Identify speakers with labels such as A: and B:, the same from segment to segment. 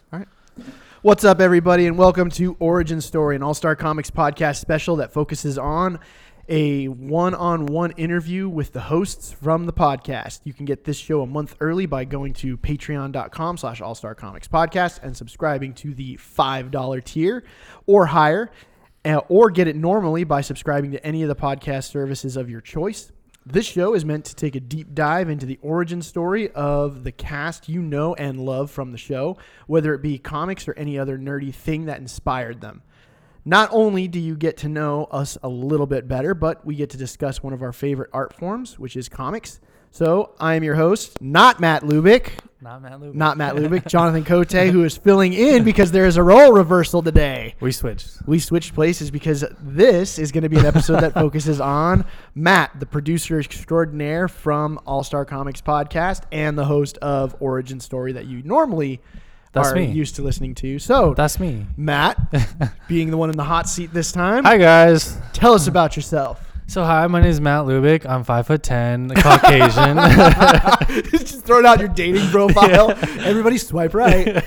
A: All right. What's up, everybody, and welcome to Origin Story, an All-Star Comics podcast special that focuses on a one-on-one interview with the hosts from the podcast. You can get this show a month early by going to patreon.com/allstarcomicspodcast and subscribing to the $5 tier or higher, or get it normally by subscribing to any of the podcast services of your choice. This show is meant to take a deep dive into the origin story of the cast you know and love from the show, whether it be comics or any other nerdy thing that inspired them. Not only do you get to know us a little bit better, but we get to discuss one of our favorite art forms, which is comics. So I am your host, not Matt Lubick, Jonathan Cote, who is filling in because there is a role reversal today.
B: We switched
A: places because this is going to be an episode that focuses on Matt, the producer extraordinaire from All-Star Comics Podcast and the host of Origin Story that you normally used to listening to. So
B: that's me,
A: Matt, being the one in the hot seat this time.
B: Hi guys,
A: tell us about yourself.
B: So hi, my name is Matt Lubick. I'm 5'10", Caucasian.
A: Just throwing out your dating profile. Yeah. Everybody swipe right.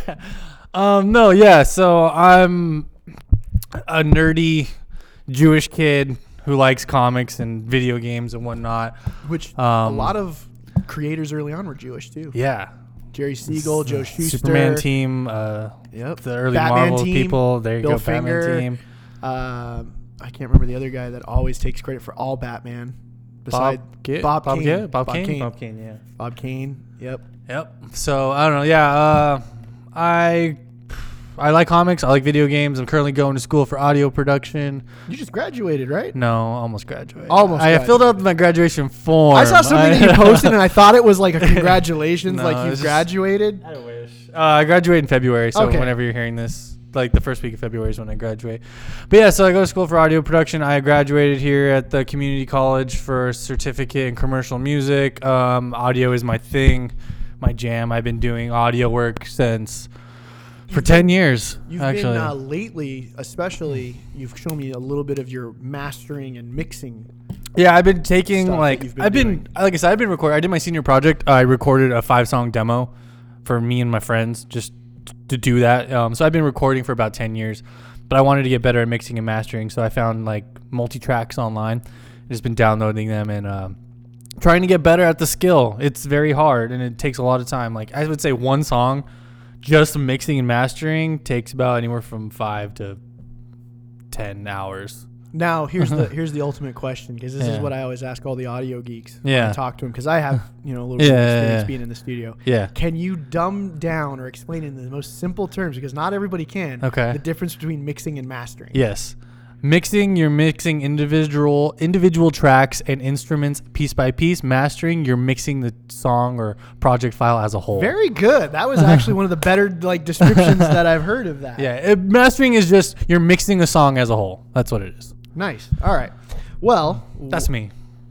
B: So I'm a nerdy Jewish kid who likes comics and video games and whatnot.
A: Which a lot of creators early on were Jewish too.
B: Yeah.
A: Jerry Siegel, Joe Shuster.
B: Superman team. The early
A: Batman
B: Marvel
A: team,
B: people. There you
A: Bill
B: go,
A: Finger,
B: Batman team.
A: I can't remember the other guy that always takes credit for all Batman.
B: Bob Kane.
A: Bob Kane.
B: Yeah.
A: Bob Kane. Yep.
B: So I don't know. Yeah. I like comics. I like video games. I'm currently going to school for audio production.
A: You just graduated, right?
B: No, almost graduated.
A: I
B: filled out my graduation form.
A: I saw something that you posted, and I thought it was like a congratulations, like you graduated.
B: I wish. I graduated in February, so
A: okay.
B: Whenever you're hearing this. Like the first week of February is when I graduate. But yeah, so I go to school for audio production. I graduated here at the community college for a certificate in commercial music. Audio is my thing, my jam. I've been doing audio work for 10 years.
A: You've
B: actually
A: been lately, especially, you've shown me a little bit of your mastering and mixing.
B: Yeah, I've been taking like
A: I've been
B: recording. I did my senior project. I recorded a 5-song demo for me and my friends just to do that. So I've been recording for about 10 years, but I wanted to get better at mixing and mastering. So I found like multi-tracks online. I've just been downloading them and trying to get better at the skill. It's very hard and it takes a lot of time. Like I would say one song, just mixing and mastering takes about anywhere from 5 to 10 hours.
A: Now here's the ultimate question, because this is what I always ask all the audio geeks when I talk to them, because I have a little bit of experience being in the studio.
B: Yeah.
A: Can you dumb down or explain in the most simple terms, because not everybody can, the difference between mixing and mastering?
B: Yes. Mixing, you're mixing individual tracks and instruments piece by piece. Mastering, you're mixing the song or project file as a whole.
A: Very good. That was actually one of the better descriptions that I've heard of that.
B: Yeah. Mastering is just you're mixing a song as a whole. That's what it is.
A: Nice. All right. Well,
B: that's me.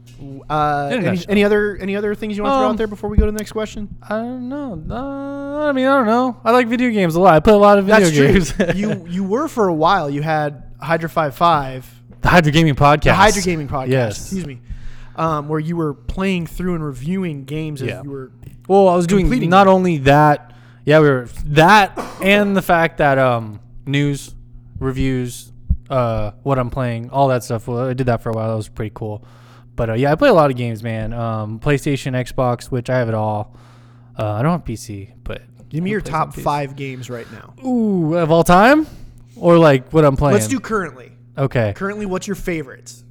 A: Any other things you want to throw out there before we go to the next question?
B: I don't know. I don't know. I like video games a lot. I play a lot of video games.
A: True. You were for a while. You had Hydra 5.5.
B: The Hydra Gaming Podcast.
A: The Hydra Gaming Podcast.
B: Yes.
A: Excuse me. Where you were playing through and reviewing games as you were.
B: Well, I was doing not only that. Yeah, we were that and the fact that news, reviews, what I'm playing, all that stuff. Well, I did that for a while. That was pretty cool. But I play a lot of games, man. PlayStation, Xbox, which I have it all. I don't have PC, but
A: give me your top 5 games right now.
B: Ooh, of all time, or like what I'm playing.
A: Let's do currently.
B: Okay.
A: Currently, what's your favorites?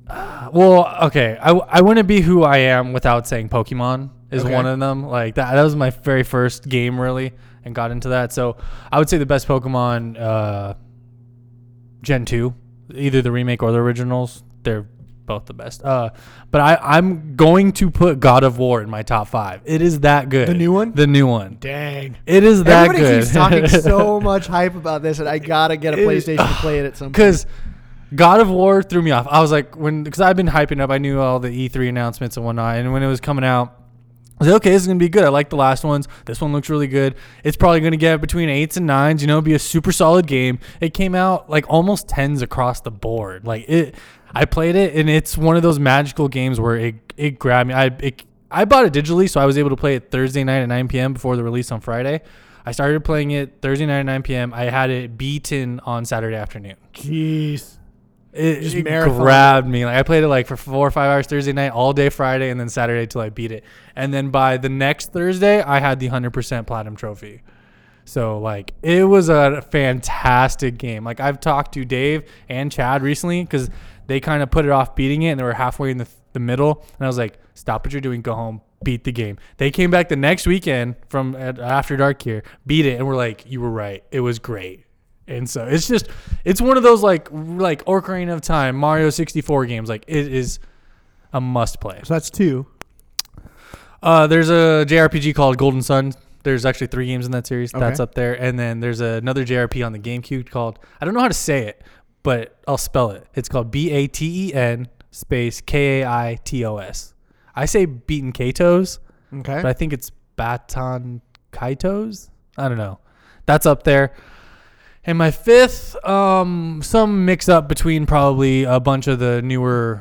B: Okay. I wouldn't be who I am without saying Pokemon is one of them. Like that was my very first game really, and got into that. So I would say the best Pokemon. Gen 2, either the remake or the originals, they're both the best. But I'm going to put God of War in my top 5. It is that good.
A: The new one?
B: The new one.
A: Dang.
B: It is that
A: good. Everybody keeps talking so much hype about this, and I got to get a PlayStation to play it at some point.
B: Because God of War threw me off. I was like, because I've been hyping up, I knew all the E3 announcements and whatnot, and when it was coming out, I was like, okay, this is going to be good. I like the last ones. This one looks really good. It's probably going to get between 8s and 9s, be a super solid game. It came out like almost 10s across the board. I played it, and it's one of those magical games where it grabbed me. I bought it digitally, so I was able to play it Thursday night at 9 p.m. before the release on Friday. I started playing it Thursday night at 9 p.m. I had it beaten on Saturday afternoon.
A: Jeez.
B: It grabbed me. Like I played it like for 4 or 5 hours Thursday night, all day Friday, and then Saturday till I beat it. And then by the next Thursday, I had the 100% platinum trophy. So like it was a fantastic game. Like I've talked to Dave and Chad recently because they kind of put it off beating it, and they were halfway in the middle. And I was like, stop what you're doing, go home, beat the game. They came back the next weekend from After Dark here, beat it, and we're like, you were right. It was great. And so it's one of those like Ocarina of Time, Mario 64 games. Like it is a must play.
A: So that's 2.
B: There's a JRPG called Golden Sun. There's actually 3 games in that series.
A: Okay.
B: That's up there. And then there's another JRPG on the GameCube called, I don't know how to say it, but I'll spell it. It's called BATEN space KAITOS. I say Beaten Kaitos,
A: Okay.
B: but I think it's Baton Kaitos. I don't know. That's up there. And my 5th, some mix up between probably a bunch of the newer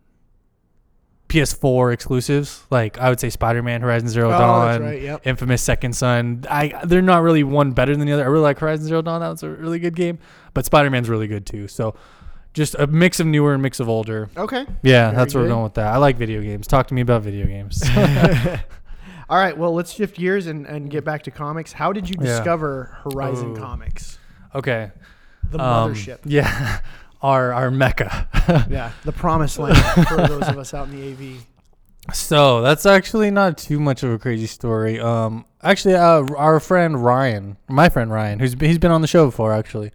B: PS4 exclusives. Like I would say Spider-Man, Horizon Zero Dawn,
A: that's right, yep.
B: Infamous Second Son. They're not really one better than the other. I really like Horizon Zero Dawn. That was a really good game. But Spider-Man's really good too. So just a mix of newer and mix of older.
A: Okay.
B: Yeah,
A: Very
B: that's where we're
A: good.
B: going with that. I like video games. Talk to me about video games.
A: All right. Well, let's shift gears and get back to comics. How did you
B: Yeah.
A: discover Horizon
B: Ooh.
A: Comics?
B: Okay.
A: The mothership.
B: Yeah. Our mecca.
A: Yeah. The promised land for those of us out in the AV.
B: So that's actually not too much of a crazy story. Actually, our friend Ryan, my friend Ryan, he's been on the show before. Actually,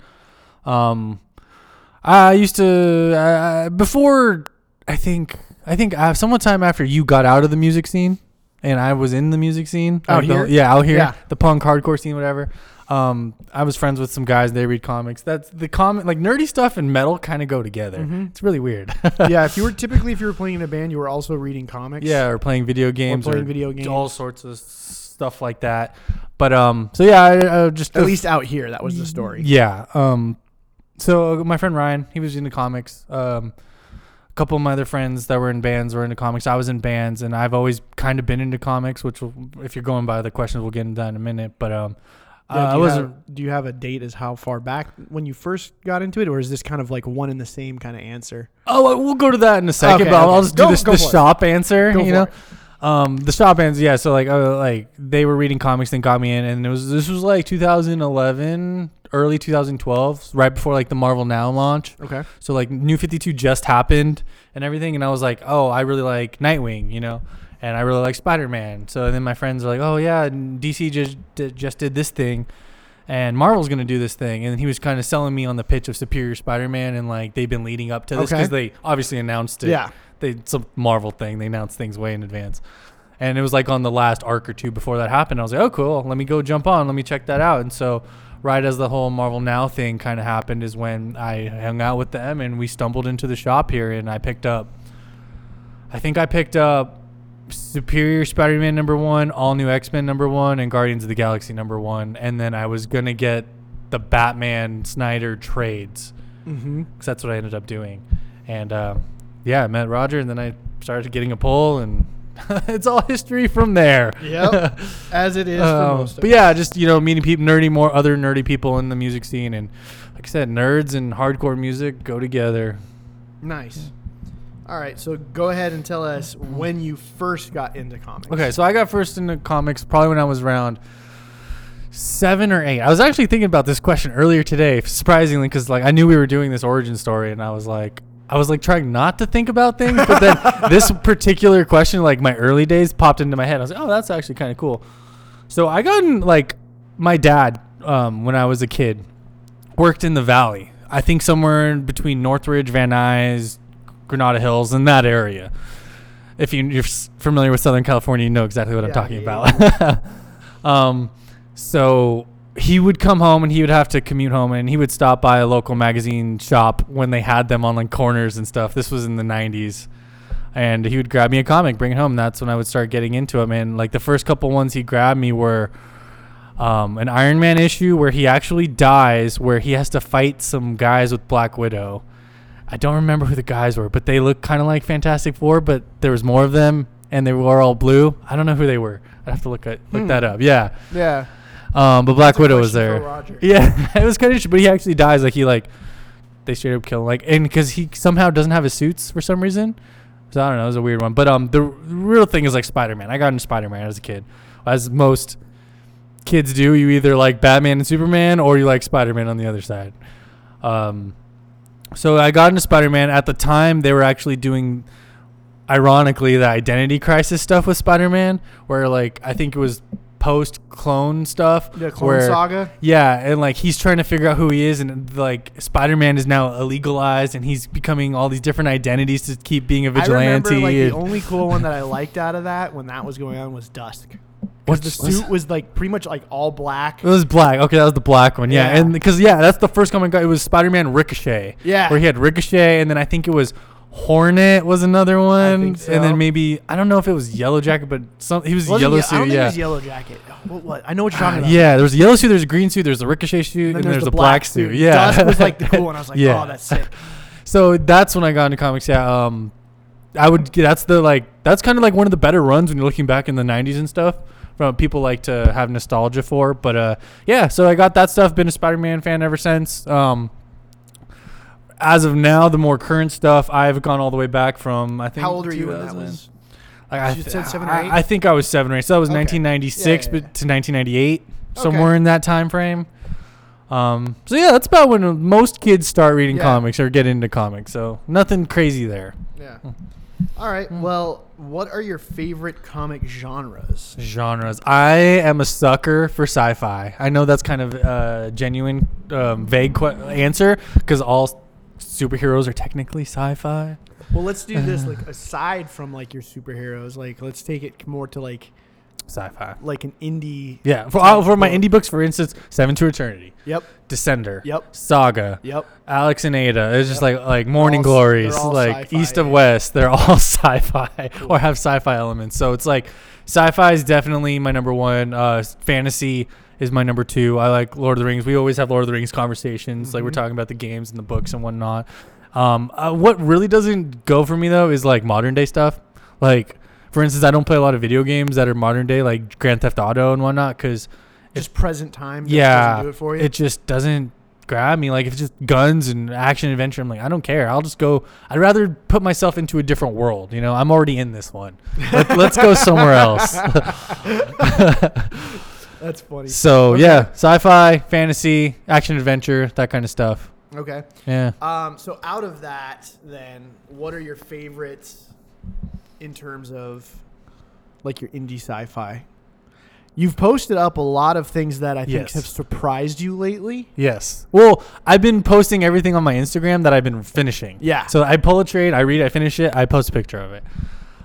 B: I used to before. I think sometime after you got out of the music scene, and I was in the music scene
A: Out here?
B: out here,
A: Yeah.
B: the punk hardcore scene, whatever. I was friends with some guys. They read comics. That's the comic, like nerdy stuff and metal kind of go together.
A: Mhm.
B: It's really weird.
A: Yeah. If you were playing in a band, you were also reading comics.
B: Yeah, or playing video games,
A: playing video games.
B: all sorts of stuff like that. But so yeah, I just
A: At least out here, that was the story.
B: Yeah. So my friend Ryan, he was into comics. A couple of my other friends that were in bands were into comics. I was in bands, and I've always kind of been into comics. Which, if you're going by the questions, we'll get into that in a minute. But
A: Yeah, do you have a date as how far back when you first got into it, or is this kind of like one and the same kind of answer?
B: Oh, we'll go to that in a second.
A: Okay,
B: but
A: okay.
B: I'll just do
A: Go
B: this
A: for
B: the
A: it.
B: shop answer.
A: Go
B: You
A: for
B: know.
A: it.
B: The shop ends, yeah. So like they were reading comics, then got me in, and this was like 2011, early 2012, right before like the Marvel Now launch.
A: Okay.
B: So like New 52 just happened and everything, and I was like, oh, I really like Nightwing, you know, and I really like Spider-Man. So then my friends were like, oh yeah, DC just did this thing, and Marvel's gonna do this thing, and he was kind of selling me on the pitch of Superior Spider-Man, and like they've been leading up to this because they obviously announced it.
A: Yeah.
B: It's a Marvel thing. They announce things way in advance. And it was like on the last arc or two before that happened. I was like, oh, cool. Let me go jump on. Let me check that out. And so right as the whole Marvel Now thing kind of happened is when I hung out with them and we stumbled into the shop here, and I picked up Superior Spider-Man #1, All New X-Men #1, and Guardians of the Galaxy #1. And then I was going to get the Batman Snyder trades
A: Mm-hmm.
B: because that's what I ended up doing. And yeah, I met Roger, and then I started getting a pull, and it's all history from there.
A: Yep. As it is for most of
B: But
A: us.
B: yeah, just meeting people, other nerdy people in the music scene, and like I said, nerds and hardcore music go together.
A: Nice. All right, so go ahead and tell us when you first got into comics.
B: Okay, so I got first into comics probably when I was around 7 or 8. I was actually thinking about this question earlier today, surprisingly, because like I knew we were doing this origin story, and I was like trying not to think about things, but then this particular question, like my early days, popped into my head. I was like, oh, that's actually kind of cool. So I got in, like, my dad, when I was a kid, worked in the Valley. I think somewhere in between Northridge, Van Nuys, Granada Hills, in that area. If you're familiar with Southern California, you know exactly what I'm talking about. So he would come home and he would have to commute home, and he would stop by a local magazine shop when they had them on like corners and stuff. This was in the 90s. And he would grab me a comic, bring it home. That's when I would start getting into them. And like the first couple ones he grabbed me were an Iron Man issue where he actually dies, where he has to fight some guys with Black Widow. I don't remember who the guys were, but they look kind of like Fantastic Four, but there was more of them, and they were all blue. I don't know who they were. I'd have to look that up. Yeah.
A: Yeah.
B: But Black
A: That's a
B: Widow was
A: question for
B: there.
A: Roger.
B: Yeah, it was kind of interesting, but he actually dies. Like they straight up kill him. Like, and because he somehow doesn't have his suits for some reason. So I don't know, it was a weird one. But the real thing is like Spider-Man. I got into Spider-Man as a kid, as most kids do. You either like Batman and Superman, or you like Spider-Man on the other side. So I got into Spider-Man. At the time, they were actually doing, ironically, the identity crisis stuff with Spider-Man, where like I think it was post-clone stuff.
A: The Clone Saga?
B: Yeah, and like he's trying to figure out who he is, and like Spider-Man is now illegalized, and he's becoming all these different identities to keep being a vigilante.
A: I remember like the only cool one that I liked out of that when that was going on was Dusk. Because the suit was like pretty much like all black.
B: It was black. Okay, that was the black one. Yeah,
A: Yeah.
B: and because that's the first comic I got. It was Spider-Man Ricochet.
A: Yeah.
B: Where he had Ricochet, and then I think it was Hornet was another one,
A: think so.
B: and then maybe I don't know if it was Yellow Jacket, but he was Yellow
A: I
B: suit.
A: don't think
B: Yeah.
A: it was Yellow Jacket. What? I know what you're talking about.
B: Yeah, there was a yellow suit, there's a green suit, there's a Ricochet suit, and there's the black suit. Yeah,
A: Dusk was like the cool one. I was like,
B: Yeah.
A: oh, that's sick.
B: So that's when I got into comics. Yeah, that's kind of like one of the better runs when you're looking back in the 90s and stuff. From people like to have nostalgia for, but yeah. So I got that stuff. Been a Spider-Man fan ever since. As of now, the more current stuff, I've gone all the way back from I think.
A: How old are you when that
B: 2000.
A: was?
B: Like
A: You said 7 or 8?
B: I think I was 7 or 8. So that was
A: Okay.
B: 1996
A: Yeah, yeah,
B: but to 1998,
A: Okay.
B: somewhere in that time frame. So yeah, that's about when most kids start reading
A: Yeah.
B: comics or get into comics. So nothing crazy there.
A: Yeah. All right. Well, what are your favorite comic genres?
B: Genres. I am a sucker for sci-fi. I know that's kind of a genuine, vague answer because all superheroes are technically sci-fi.
A: Well, let's do this. Like, aside from like your superheroes, like let's take it more to like
B: Sci-fi.
A: an indie.
B: Yeah. For my
A: book.
B: indie books, for instance, Seven to Eternity,
A: Yep.
B: Descender,
A: Yep.
B: Saga,
A: Yep.
B: Alex and Ada. It's just
A: Yep.
B: like Morning
A: all-
B: Glories,
A: they're all
B: like
A: sci-fi,
B: East of
A: yeah.
B: West. They're all sci-fi or have sci-fi elements. So it's like sci-fi is definitely my number one. Fantasy is my number two. I like Lord of the Rings. We always have Lord of the Rings conversations. Like we're
A: Mhm.
B: talking about the games and the books and whatnot. What really doesn't go for me though is like modern day stuff. Like for instance, I don't play a lot of video games that are modern day, like Grand Theft Auto and whatnot, because
A: Just present time.
B: yeah,
A: Doesn't do it for you.
B: it just doesn't grab me. Like if it's just guns and action adventure, I'm like, I don't care. I'll just go. I'd rather put myself into a different world. You know, I'm already in this one. Let's go somewhere else.
A: That's funny.
B: So
A: Okay.
B: yeah, sci-fi, fantasy, action adventure, that kind of stuff.
A: Okay.
B: Yeah.
A: So out of that, then, what are your favorites in terms of like your indie sci-fi? You've posted up a lot of things that I think
B: Yes.
A: have surprised you lately.
B: Yes. Well, I've been posting everything on my Instagram that I've been finishing.
A: Yeah.
B: So I pull a trade, I read, I finish it, I post a picture of it.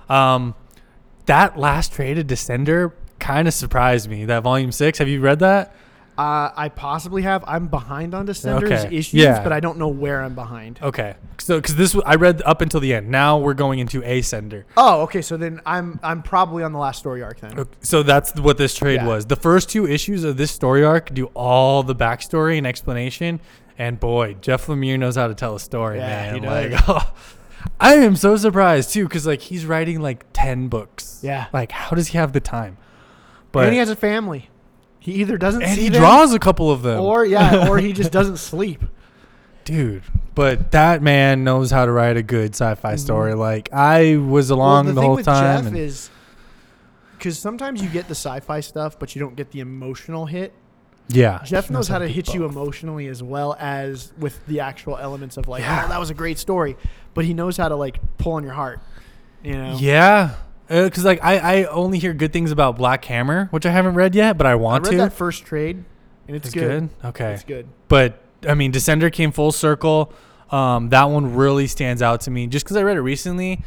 B: That last trade of Descender kind of surprised me. That volume 6. Have you read that?
A: I possibly have. I'm behind on Descender's
B: Okay.
A: issues,
B: Yeah.
A: but I don't know where I'm behind.
B: Okay. So because I read up until the end. Now we're going into Ascender.
A: Oh, okay. So then I'm probably on the last story arc then.
B: Okay, so that's what this trade
A: Yeah.
B: was. The first 2 issues of this story arc do all the backstory and explanation. And boy, Jeff Lemire knows how to tell a story,
A: Yeah,
B: man.
A: he
B: Like,
A: does.
B: I am so surprised too, because like he's writing like 10 books.
A: Yeah.
B: Like, how does he have the time? But
A: And he has a family. He either doesn't
B: and
A: see
B: he
A: them,
B: draws a couple of them.
A: or he just doesn't sleep.
B: Dude, but that man knows how to write a good sci-fi story. Like I was along
A: Well,
B: the
A: thing
B: whole
A: with
B: time.
A: Jeff
B: and-
A: is because sometimes you get the sci-fi stuff, but you don't get the emotional hit.
B: yeah,
A: Jeff
B: he
A: knows how to
B: do
A: hit you
B: both.
A: emotionally as well as with the actual elements of like,
B: Yeah.
A: oh, that was a great story, but he knows how to like pull on your heart. You know.
B: Yeah, because like I only hear good things about Black Hammer, which I haven't read yet, but I
A: I
B: want
A: read
B: to.
A: that first trade, and it's good.
B: Okay,
A: It's good.
B: but I mean, Descender came full circle. That one really stands out to me just because I read it recently.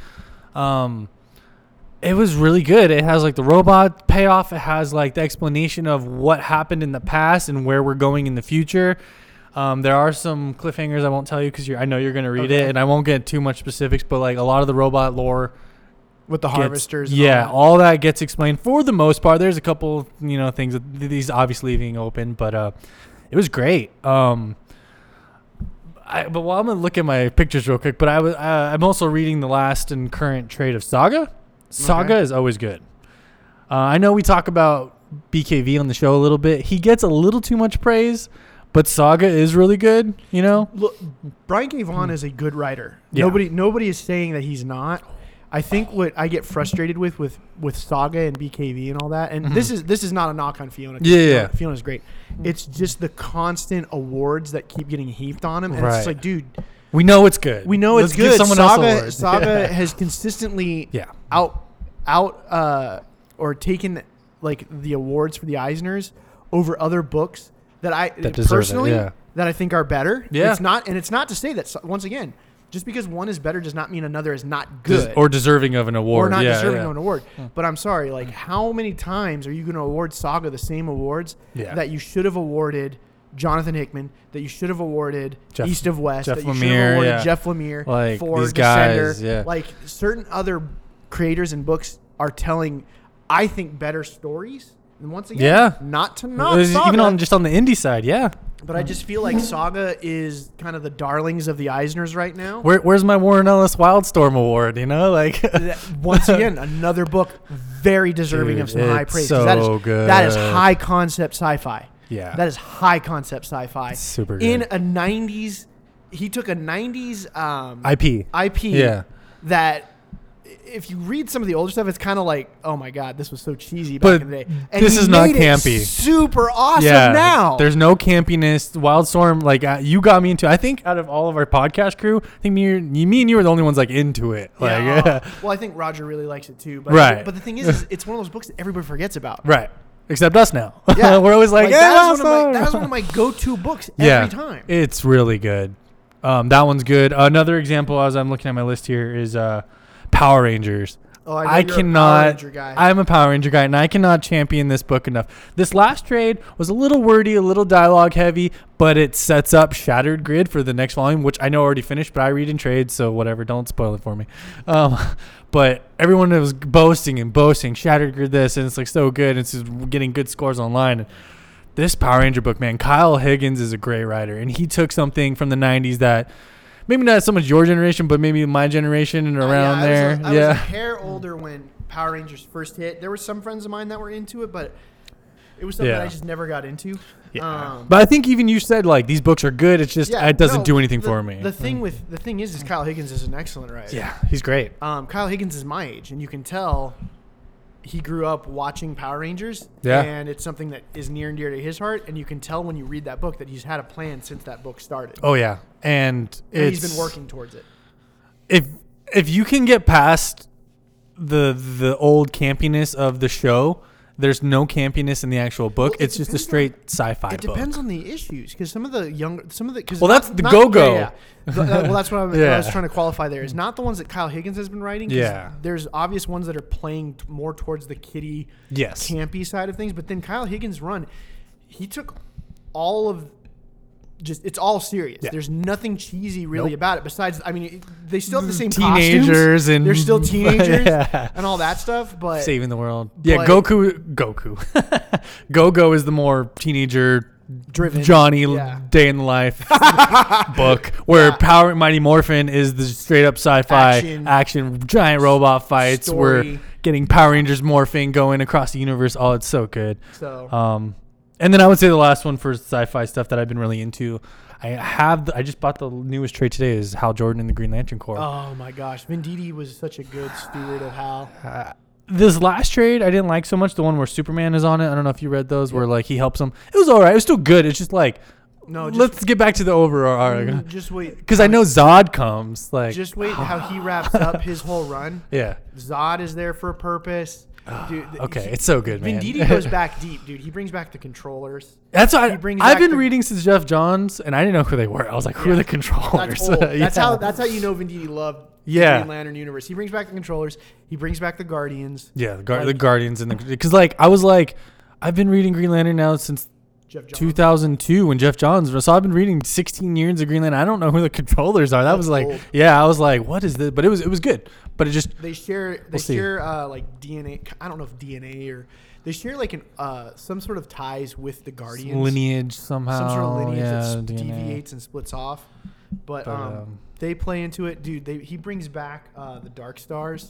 B: It was really good. It has like the robot payoff. It has like the explanation of what happened in the past and where we're going in the future. There are some cliffhangers I won't tell you because I know you're going to read
A: Okay.
B: it, and I won't get too much specifics, but like a lot of the robot lore
A: With the
B: gets-
A: harvesters. And
B: yeah,
A: all
B: all that gets explained for the most part. There's a couple, things that these obviously leaving open, but it was great. But while I'm gonna look at my pictures real quick, but I'm also reading the last and current trade of Saga. Saga
A: Okay.
B: is always good. I know we talk about BKV on the show a little bit. He gets a little too much praise, but Saga is really good. You know,
A: Look, Brian K. Vaughan is a good writer.
B: Yeah.
A: Nobody is saying that he's not. I think what I get frustrated with Saga and BKV and all that, and this is not a knock on Fiona.
B: Yeah.
A: Fiona's great. It's just the constant awards that keep getting heaped on him, and it's just like, dude,
B: we know it's good.
A: we know
B: Let's
A: it's good.
B: Give someone else
A: Saga
B: awards.
A: Saga has consistently or taken like the awards for the Eisners over other books that
B: deserve
A: personally
B: it,
A: that I think are better.
B: Yeah.
A: It's not to say that once again, just because one is better does not mean another is not good
B: or deserving of an award.
A: or not
B: Yeah,
A: deserving
B: yeah.
A: of an award. But I'm sorry, like how many times are you going to award Saga the same awards that you should have awarded Jonathan Hickman, that you should have awarded East of West,
B: Jeff
A: that you should
B: Lemire,
A: have awarded
B: yeah.
A: Jeff Lemire
B: Like,
A: for
B: these
A: Descender.
B: guys, yeah.
A: Like certain other creators and books are telling, I think, better stories. And once again,
B: Yeah.
A: not to knock
B: Even
A: Saga,
B: on the indie side, yeah.
A: but I just feel like Saga is kind of the darlings of the Eisners right now.
B: Where's my Warren Ellis Wildstorm award? You know, like
A: Once again, another book very deserving
B: Dude,
A: of some high
B: it's
A: praise. 'cause
B: so
A: that is
B: good.
A: That is high concept sci-fi.
B: Yeah.
A: That is high concept sci-fi.
B: It's super good.
A: In a 90s, he took a 90s
B: IP. Yeah.
A: that if you read some of the older stuff, it's kind of like, oh my God, this was so cheesy back
B: But
A: in the day. And
B: this
A: he
B: is not
A: made it
B: campy.
A: super awesome
B: Yeah,
A: now.
B: there's no campiness. Wildstorm, like you got me into. I think out of all of our podcast crew, I think me and you were the only ones like into it. Like,
A: Yeah. Well, I think Roger really likes it too. But
B: Right.
A: But the thing is it's one of those books that everybody forgets about.
B: right. Except us now.
A: Yeah.
B: We're always like,
A: that
B: yeah,
A: was one of my go-to books
B: yeah,
A: every time.
B: It's really good. That one's good. Another example, as I'm looking at my list here, is Power Rangers.
A: Oh, I know
B: I
A: you're a Power
B: cannot.
A: Ranger guy.
B: I'm a Power Ranger guy, and I cannot champion this book enough. This last trade was a little wordy, a little dialogue heavy, but it sets up Shattered Grid for the next volume, which I know already finished, but I read in trades, so whatever. Don't spoil it for me. But everyone was boasting, Shattered Grid this, and it's like so good. It's just getting good scores online. This Power Ranger book, man, Kyle Higgins is a great writer, and he took something from the 90s that maybe not so much your generation, but maybe my generation and around there.
A: I was a hair older when Power Rangers first hit. There were some friends of mine that were into it, but it was something
B: Yeah.
A: I just never got into.
B: Yeah. But I think even you said like these books are good. It's just it doesn't do anything for me.
A: The thing is Kyle Higgins is an excellent writer.
B: Yeah, he's great.
A: Kyle Higgins is my age, and you can tell he grew up watching Power Rangers.
B: Yeah.
A: And it's something that is near and dear to his heart, and you can tell when you read that book that he's had a plan since that book started.
B: Oh yeah, and
A: he's been working towards it.
B: If you can get past the old campiness of the show, there's no campiness in the actual book.
A: Well,
B: it's just a straight sci-fi
A: It
B: book.
A: depends on the issues, because
B: Well, that's the Go-Go.
A: Yeah. Well, that's what I
B: Yeah.
A: was trying to qualify there. Is not the ones that Kyle Higgins has been writing. 'Cause
B: Yeah.
A: There's obvious ones that are playing more towards the kiddie,
B: Yes.
A: campy side of things. But then Kyle Higgins' run, he took all of. It's all serious.
B: Yeah.
A: There's nothing cheesy really
B: Nope.
A: about it. Besides, I mean, they still have the same
B: Teenagers
A: costumes.
B: and
A: They're still teenagers
B: Yeah.
A: and all that stuff. But
B: Saving the world. Yeah,
A: but-
B: Goku. Go-Go is the more teenager
A: driven
B: Johnny
A: Yeah.
B: Day in the Life book, where
A: Yeah.
B: Mighty Morphin is the straight up sci-fi action giant robot fights.
A: Story.
B: We're getting Power Rangers morphing going across the universe. Oh, it's so good.
A: So
B: And then I would say the last one for sci-fi stuff that I've been really into, I just bought the newest trade today, is Hal Jordan and the Green Lantern Corps.
A: oh my gosh, Venditti was such a good steward of Hal.
B: This last trade I didn't like so much, the one where Superman is on it. I don't know if you read those, where like he helps him. It was all right. It was still good. It's just like, let's get back to the overall arc.
A: Just wait.
B: Because I know Zod comes. Like,
A: Just wait how he wraps up his whole run.
B: yeah.
A: Zod is there for a purpose. Dude,
B: Okay, it's so good, man.
A: Venditti goes back deep, dude. He brings back the controllers.
B: That's what
A: he brings
B: I've
A: back
B: been
A: the-
B: reading since Jeff Johns, and I didn't know who they were. I was like, who are the controllers?
A: That's old. That's
B: Yeah.
A: that's how you know Venditti loved
B: Yeah.
A: the Green Lantern universe. He brings back the controllers. He brings back the Guardians.
B: Yeah, the
A: Like-
B: Guardians and because like I was like, I've been reading Green Lantern now since
A: Jeff Johns.
B: 2002 when Jeff Johns was. So I've been reading 16 years of Green Lantern. I don't know who the controllers are. That
A: That's
B: was like,
A: old.
B: yeah, I was like, what is this? But it was good. But it just
A: They share
B: We'll see.
A: like DNA. I don't know if DNA or they share like an some sort of ties with the Guardians.
B: lineage somehow.
A: Some sort of lineage
B: yeah,
A: that
B: DNA.
A: deviates and splits off. But
B: But,
A: they play into it, dude. He brings back the Dark Stars.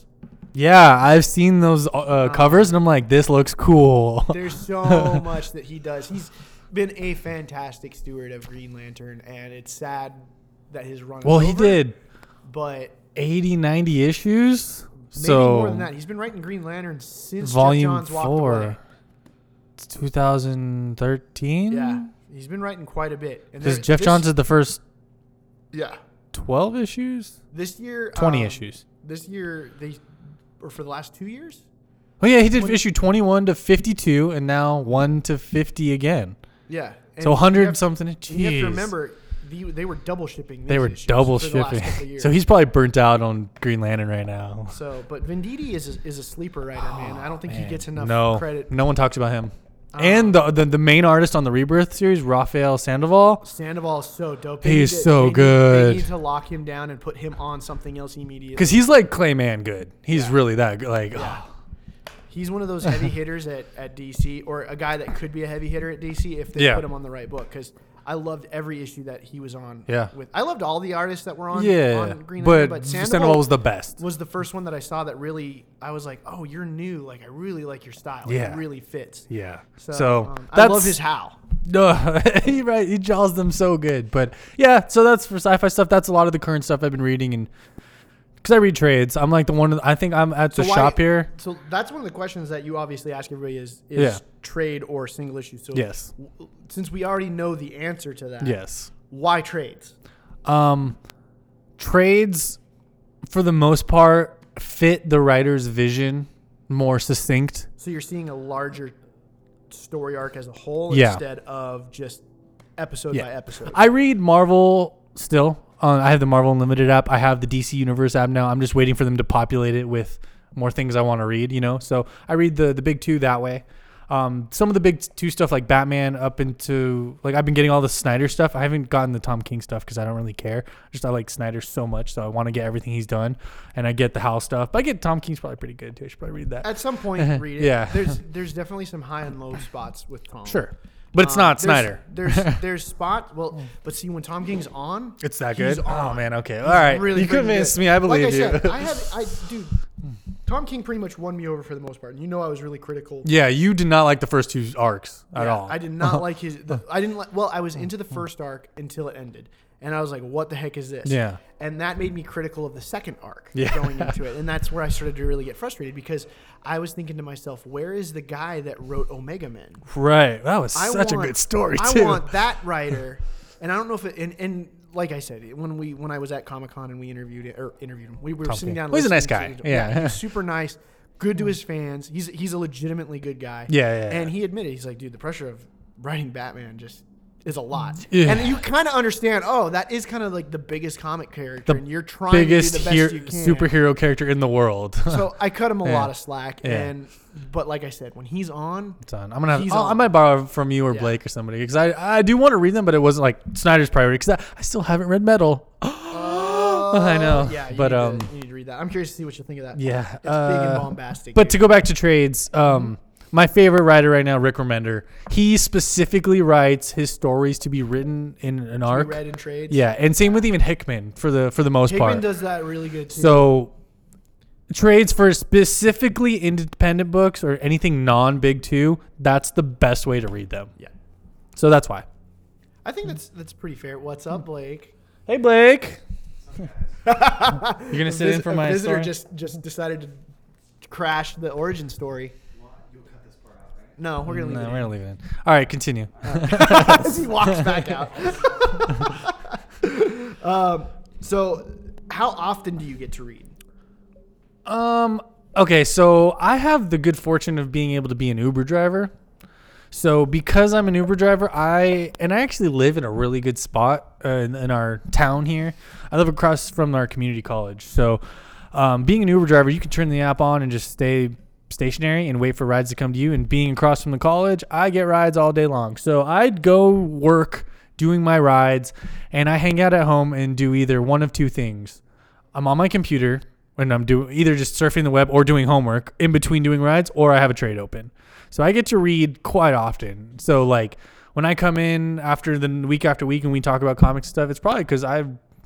B: Yeah, I've seen those covers, and I'm like, this looks cool.
A: There's so much that he does. He's been a fantastic steward of Green Lantern, and it's sad that his run is over.
B: He did
A: But
B: 80, 90 issues.
A: maybe
B: So
A: more than that. He's been writing Green Lantern since Jeff
B: volume
A: Johns walked away.
B: 4. It's 2013.
A: Yeah, he's been writing quite a bit. And
B: Because Jeff Johns is the first
A: Yeah.
B: 12 issues,
A: This year,
B: 20 issues.
A: This year, or for the last 2 years.
B: Oh yeah, he did issue 21 to 52, and now 1 to 50 again.
A: Yeah. And
B: So 100
A: you have,
B: something.
A: and you have
B: Jeez.
A: to remember, they were double shipping.
B: They
A: these
B: were
A: issues
B: double
A: for the last
B: shipping.
A: couple of years.
B: So he's probably burnt out on Green Lantern right now.
A: So, but Venditti is a sleeper writer, man. I don't think he
B: Man.
A: gets enough credit.
B: No one talks about him. And the main artist on the Rebirth series, Raphael Sandoval.
A: Sandoval is so dope.
B: He's so good.
A: They need to lock him down and put him on something else immediately.
B: Because he's like Clayman good. He's
A: Yeah.
B: really that good. Like,
A: Yeah. He's one of those heavy hitters at DC, or a guy that could be a heavy hitter at DC if they
B: Yeah.
A: put him on the right book. Because I loved every issue that he was on.
B: Yeah.
A: I loved all the artists that were on.
B: yeah.
A: On Green Lantern,
B: But
A: but
B: Sandoval was the best.
A: was the first one that I saw that really I was like, oh, you're new. Like I really like your style. Like,
B: Yeah.
A: it really fits.
B: Yeah.
A: So, I
B: that's
A: love his how.
B: No, right. He draws them so good. But yeah, so that's for sci-fi stuff. That's a lot of the current stuff I've been reading, and because I read trades, I'm like the one. I think I'm at the
A: So why-
B: shop here.
A: So that's one of the questions that you obviously ask everybody is
B: Yeah.
A: trade or single issue. So
B: Yes.
A: Since we already know the answer to that,
B: Yes.
A: why trades?
B: Trades, for the most part, fit the writer's vision more succinct.
A: So you're seeing a larger story arc as a whole
B: Yeah.
A: instead of just episode
B: Yeah.
A: by episode.
B: I read Marvel still. I have the Marvel Unlimited app. I have the DC Universe app now. I'm just waiting for them to populate it with more things I want to read, So I read the big two that way. Some of the big two stuff like Batman up into, like, I've been getting all the Snyder stuff. I haven't gotten the Tom King stuff because I don't really care. I like Snyder so much, so I want to get everything he's done. And I get the Hal stuff. But I get Tom King's probably pretty good too. I should probably read that.
A: At some point, read it.
B: Yeah.
A: There's definitely some high and low spots with Tom.
B: Sure. But it's not Snyder.
A: There's spot. Well, but see when Tom King's on,
B: It's that
A: he's
B: good? Oh,
A: on.
B: man. Okay. All right.
A: Really
B: you
A: freaking
B: convinced
A: good.
B: me. I believe you.
A: Like I said, dude, Tom King pretty much won me over for the most part. And I was really critical.
B: Yeah, you did not like the first two arcs at
A: Yeah,
B: all.
A: I did not like his. I didn't like. Well, I was into the first arc until it ended, and I was like, "What the heck is this?"
B: Yeah.
A: And that made me critical of the second arc
B: Yeah.
A: going into it, and that's where I started to really get frustrated because I was thinking to myself, "Where is the guy that wrote Omega Men?"
B: Right. That was such a good story, too.
A: I want that writer, and I don't know if it. And like I said, when I was at Comic-Con and we interviewed him, we were
B: Tom
A: sitting
B: King.
A: down.
B: Well, he's a nice
A: listening
B: guy.
A: to-
B: Yeah.
A: he's super nice. Good to his fans. He's a legitimately good guy.
B: Yeah.
A: And he admitted, he's like, dude, the pressure of writing Batman just is a lot.
B: Yeah.
A: And you kind of understand, that is kind of like the biggest comic character,
B: The
A: and you're trying
B: biggest
A: to do the best you can.
B: superhero character in the world.
A: So I cut him a
B: Yeah.
A: lot of slack,
B: Yeah.
A: but like I said, when he's on,
B: It's on. I'm gonna have.
A: He's
B: I
A: on.
B: might borrow from you or
A: Yeah.
B: Blake or somebody because I do want to read them, but it wasn't like Snyder's priority because I still haven't read Metal. I know.
A: Yeah, you
B: but
A: need to read that. I'm curious to see what you think of that.
B: yeah.
A: It's big and bombastic.
B: But to go back to trades, my favorite writer right now, Rick Remender, he specifically writes his stories to be written in an arc.
A: read in trades.
B: Yeah, and same with even Hickman for the most
A: Hickman
B: part.
A: does that really good too.
B: So trades for specifically independent books or anything non-big two, that's the best way to read them.
A: Yeah.
B: So that's why.
A: I think that's pretty fair. What's up, Blake?
B: Hey Blake. You're gonna sit in for my
A: a visitor
B: story?
A: just decided to crash the origin story. No, we're gonna leave
B: No,
A: it.
B: we're gonna leave it in. All right, continue.
A: As he walks back out. So, how often do you get to read?
B: Okay, so I have the good fortune of being able to be an Uber driver. So because I'm an Uber driver, I actually live in a really good spot in our town here. I live across from our community college. So being an Uber driver, you can turn the app on and just stay stationary and wait for rides to come to you. And being across from the college, I get rides all day long. So I'd go work doing my rides, and I hang out at home and do either one of two things. I'm on my computer when I'm doing either just surfing the web or doing homework in between doing rides, or I have a trade open. So I get to read quite often. So like when I come in after the week after week and we talk about comics stuff, it's probably because I've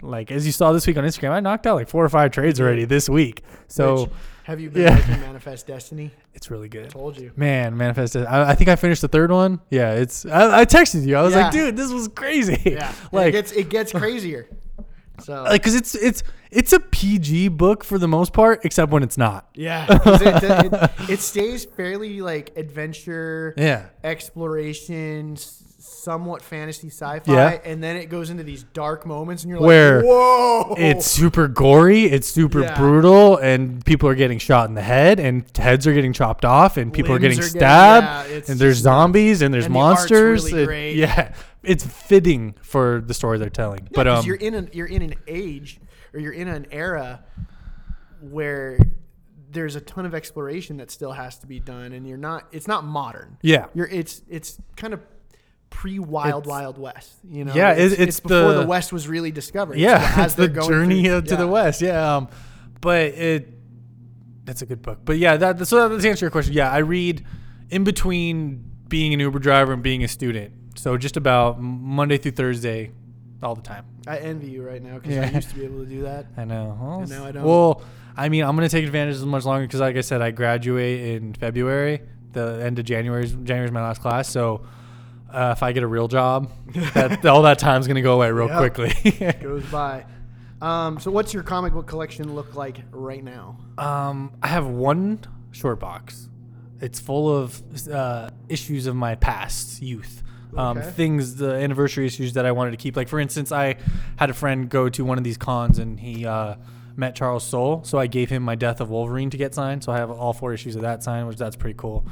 B: like as you saw this week on Instagram, I knocked out like 4 or 5 trades already this week. So
A: Which, have you been liking Manifest Destiny?
B: it's really
A: I
B: good.
A: told you.
B: Man, Manifest. I think I finished the 3rd one. Yeah, I texted you. I was like, dude, this was crazy.
A: Yeah,
B: like
A: it gets crazier. So
B: like because it's a PG book for the most part, except when it's not.
A: yeah, 'cause it stays fairly like adventure,
B: Yeah.
A: exploration, somewhat fantasy sci-fi,
B: Yeah.
A: and then it goes into these dark moments, and you're
B: Where
A: like, whoa!
B: It's super gory, it's super
A: Yeah.
B: brutal, and people are getting shot in the head, and heads are getting chopped off, and people are
A: Limbs
B: getting stabbed,
A: yeah, it's
B: and there's
A: just
B: zombies, and there's
A: And the art's
B: monsters.
A: really great.
B: Yeah, it's fitting for the story they're telling.
A: Yeah,
B: but
A: 'cause you're in an age, or you're in an era where there's a ton of exploration that still has to be done, and it's not modern.
B: yeah,
A: It's kind of pre-Wild
B: It's-
A: Wild West, you know.
B: Yeah,
A: it's
B: it's
A: before
B: the-
A: the West was really discovered.
B: yeah,
A: as
B: it's the
A: they're going
B: journey
A: through-
B: to the
A: yeah.
B: west. Yeah, but that's a good book. But yeah, so to answer your question, yeah, I read in between being an Uber driver and being a student. So just about Monday through Thursday, all the time.
A: I envy you right now because
B: Yeah.
A: I used to be able to do that.
B: I know. Well,
A: And now I don't.
B: Well, I mean, I'm gonna take advantage as much longer because, like I said, I graduate in February. The end of January is my last class. So if I get a real job, all that time's gonna go away real
A: Yep.
B: quickly.
A: Goes by. So what's your comic book collection look like right now?
B: I have one short box. It's full of issues of my past youth.
A: Okay.
B: Things, the anniversary issues that I wanted to keep. Like, for instance, I had a friend go to one of these cons and he met Charles Soule. So I gave him my Death of Wolverine to get signed. So I have all 4 issues of that signed, which that's pretty cool.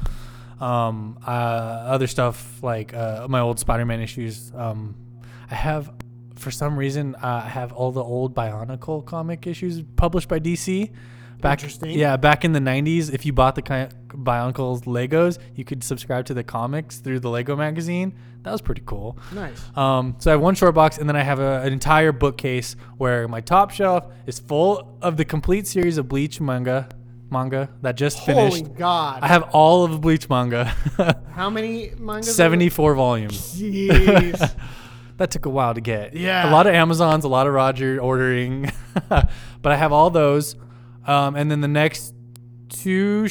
B: Other stuff like my old Spider-Man issues. I have, for some reason, I have all the old Bionicle comic issues published by DC.
A: Interesting.
B: Yeah, back in the 90s, if you bought the Bionicles Legos, you could subscribe to the comics through the Lego magazine. That was pretty cool.
A: Nice.
B: So I have one short box, and then I have an entire bookcase where my top shelf is full of the complete series of Bleach manga that just finished.
A: Holy God.
B: I have all of the Bleach manga.
A: How many mangas?
B: 74 volumes.
A: Jeez.
B: That took a while to get.
A: Yeah.
B: A lot of Amazons, a lot of Roger ordering. But I have all those. And then the next two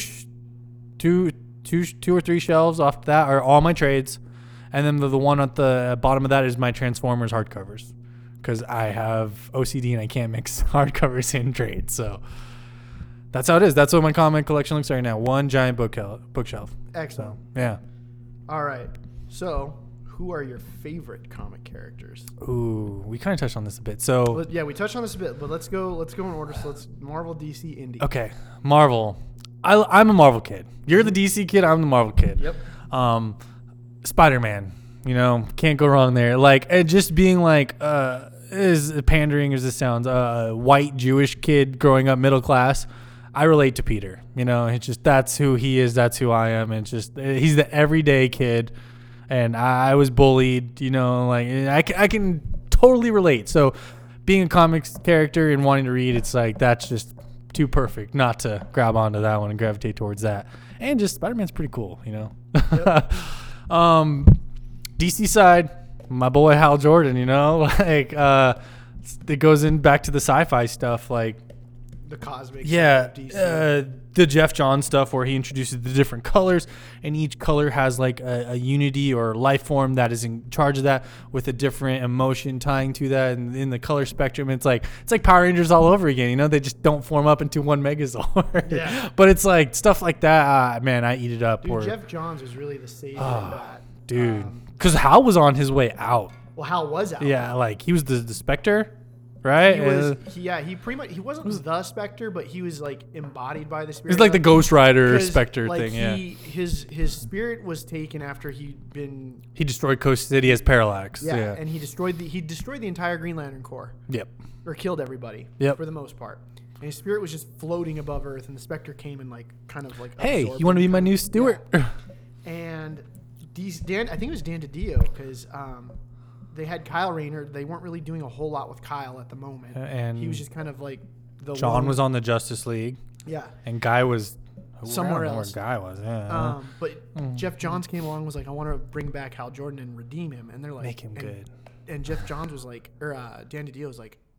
B: or three shelves off that are all my trades. And then the one at the bottom of that is my Transformers hardcovers. Because I have OCD and I can't mix hardcovers in trades. So that's how it is. That's what my comic collection looks like right now. One giant bookshelf.
A: Excellent.
B: So, yeah.
A: All right. So, who are your favorite comic characters?
B: Ooh, we kind of touched on this a bit. So,
A: Well, yeah, we touched on this a bit, but let's go in order. So let's Marvel, DC, Indie.
B: okay, Marvel. I'm a Marvel kid. You're the DC kid. I'm the Marvel kid.
A: Yep.
B: Spider-Man. You know, can't go wrong there. Like, it just being like, as pandering as this sounds, a white Jewish kid growing up middle class. I relate to Peter. You know, it's just that's who he is. That's who I am. It's just he's the everyday kid, and I was bullied. You know, like I can totally relate. So, being a comics character and wanting to read, it's like that's just too perfect not to grab onto that one and gravitate towards that. And just Spider-Man's pretty cool. You know.
A: Yep.
B: DC side, my boy Hal Jordan. You know, like it goes in back to the sci-fi stuff, like.
A: The cosmic.
B: Yeah,
A: side of DC.
B: the Jeff Johns stuff where he introduces the different colors, and each color has like a unity or life form that is in charge of that with a different emotion tying to that. And in the color spectrum, it's like Power Rangers all over again. You know, they just don't form up into one Megazord.
A: Yeah.
B: But it's like stuff like that. Man, I eat it up.
A: Dude, Jeff Johns was really the savior of that.
B: Dude, because Hal was on his way out.
A: Well, Hal was out.
B: Yeah, like he was the Spectre. Right?
A: He pretty much, he wasn't the Spectre, but he was like embodied by the Spirit.
B: It's like the Ghost Rider
A: 'Cause,
B: Spectre
A: like,
B: thing, yeah.
A: His spirit was taken after he'd been
B: He destroyed Coast City as Parallax.
A: yeah, and he destroyed the entire Green Lantern Corps,
B: Yep.
A: or killed everybody
B: Yep.
A: for the most part. And his spirit was just floating above Earth, and the Spectre came and like kind of like
B: Hey,
A: absorbed
B: you want to
A: him.
B: be my new steward?
A: And I think it was Dan DiDio because they had Kyle Rayner. They weren't really doing a whole lot with Kyle at the moment,
B: And
A: he was just kind of like the
B: John
A: lone-
B: was on the Justice League,
A: yeah.
B: and Guy was
A: Somewhere
B: I don't know
A: else.
B: Where Guy was, yeah.
A: But Jeff Johns came along and was like, I want to bring back Hal Jordan and redeem him. And they're like,
B: Make him good.
A: And Jeff Johns was like, or Dan DiDio was like,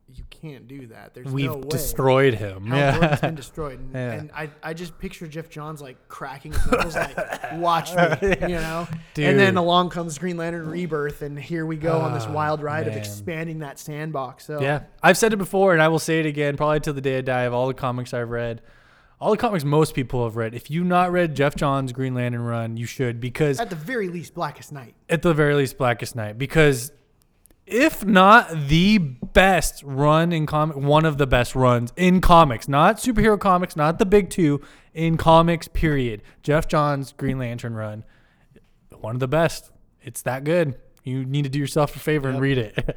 A: you can't do that. There's
B: We've
A: no way.
B: destroyed him.
A: Hal
B: Yeah.
A: Jordan's been destroyed. And,
B: Yeah.
A: and I just picture Jeff Johns like cracking his knuckles like, watch me, you know?
B: Dude.
A: And then along comes Green Lantern Rebirth, and here we go on this wild ride of
B: man.
A: expanding that sandbox. So
B: Yeah, I've said it before, and I will say it again, probably till the day I die. Of all the comics I've read, all the comics most people have read, if you've not read Jeff Johns' Green Lantern run, you should, because
A: at the very least, Blackest Night.
B: at the very least, Blackest Night, because if not the best run in comic, one of the best runs in comics, not superhero comics, not the big two, in comics, period. Jeff Johns' Green Lantern run, one of the best. It's that good. You need to do yourself a favor and read it.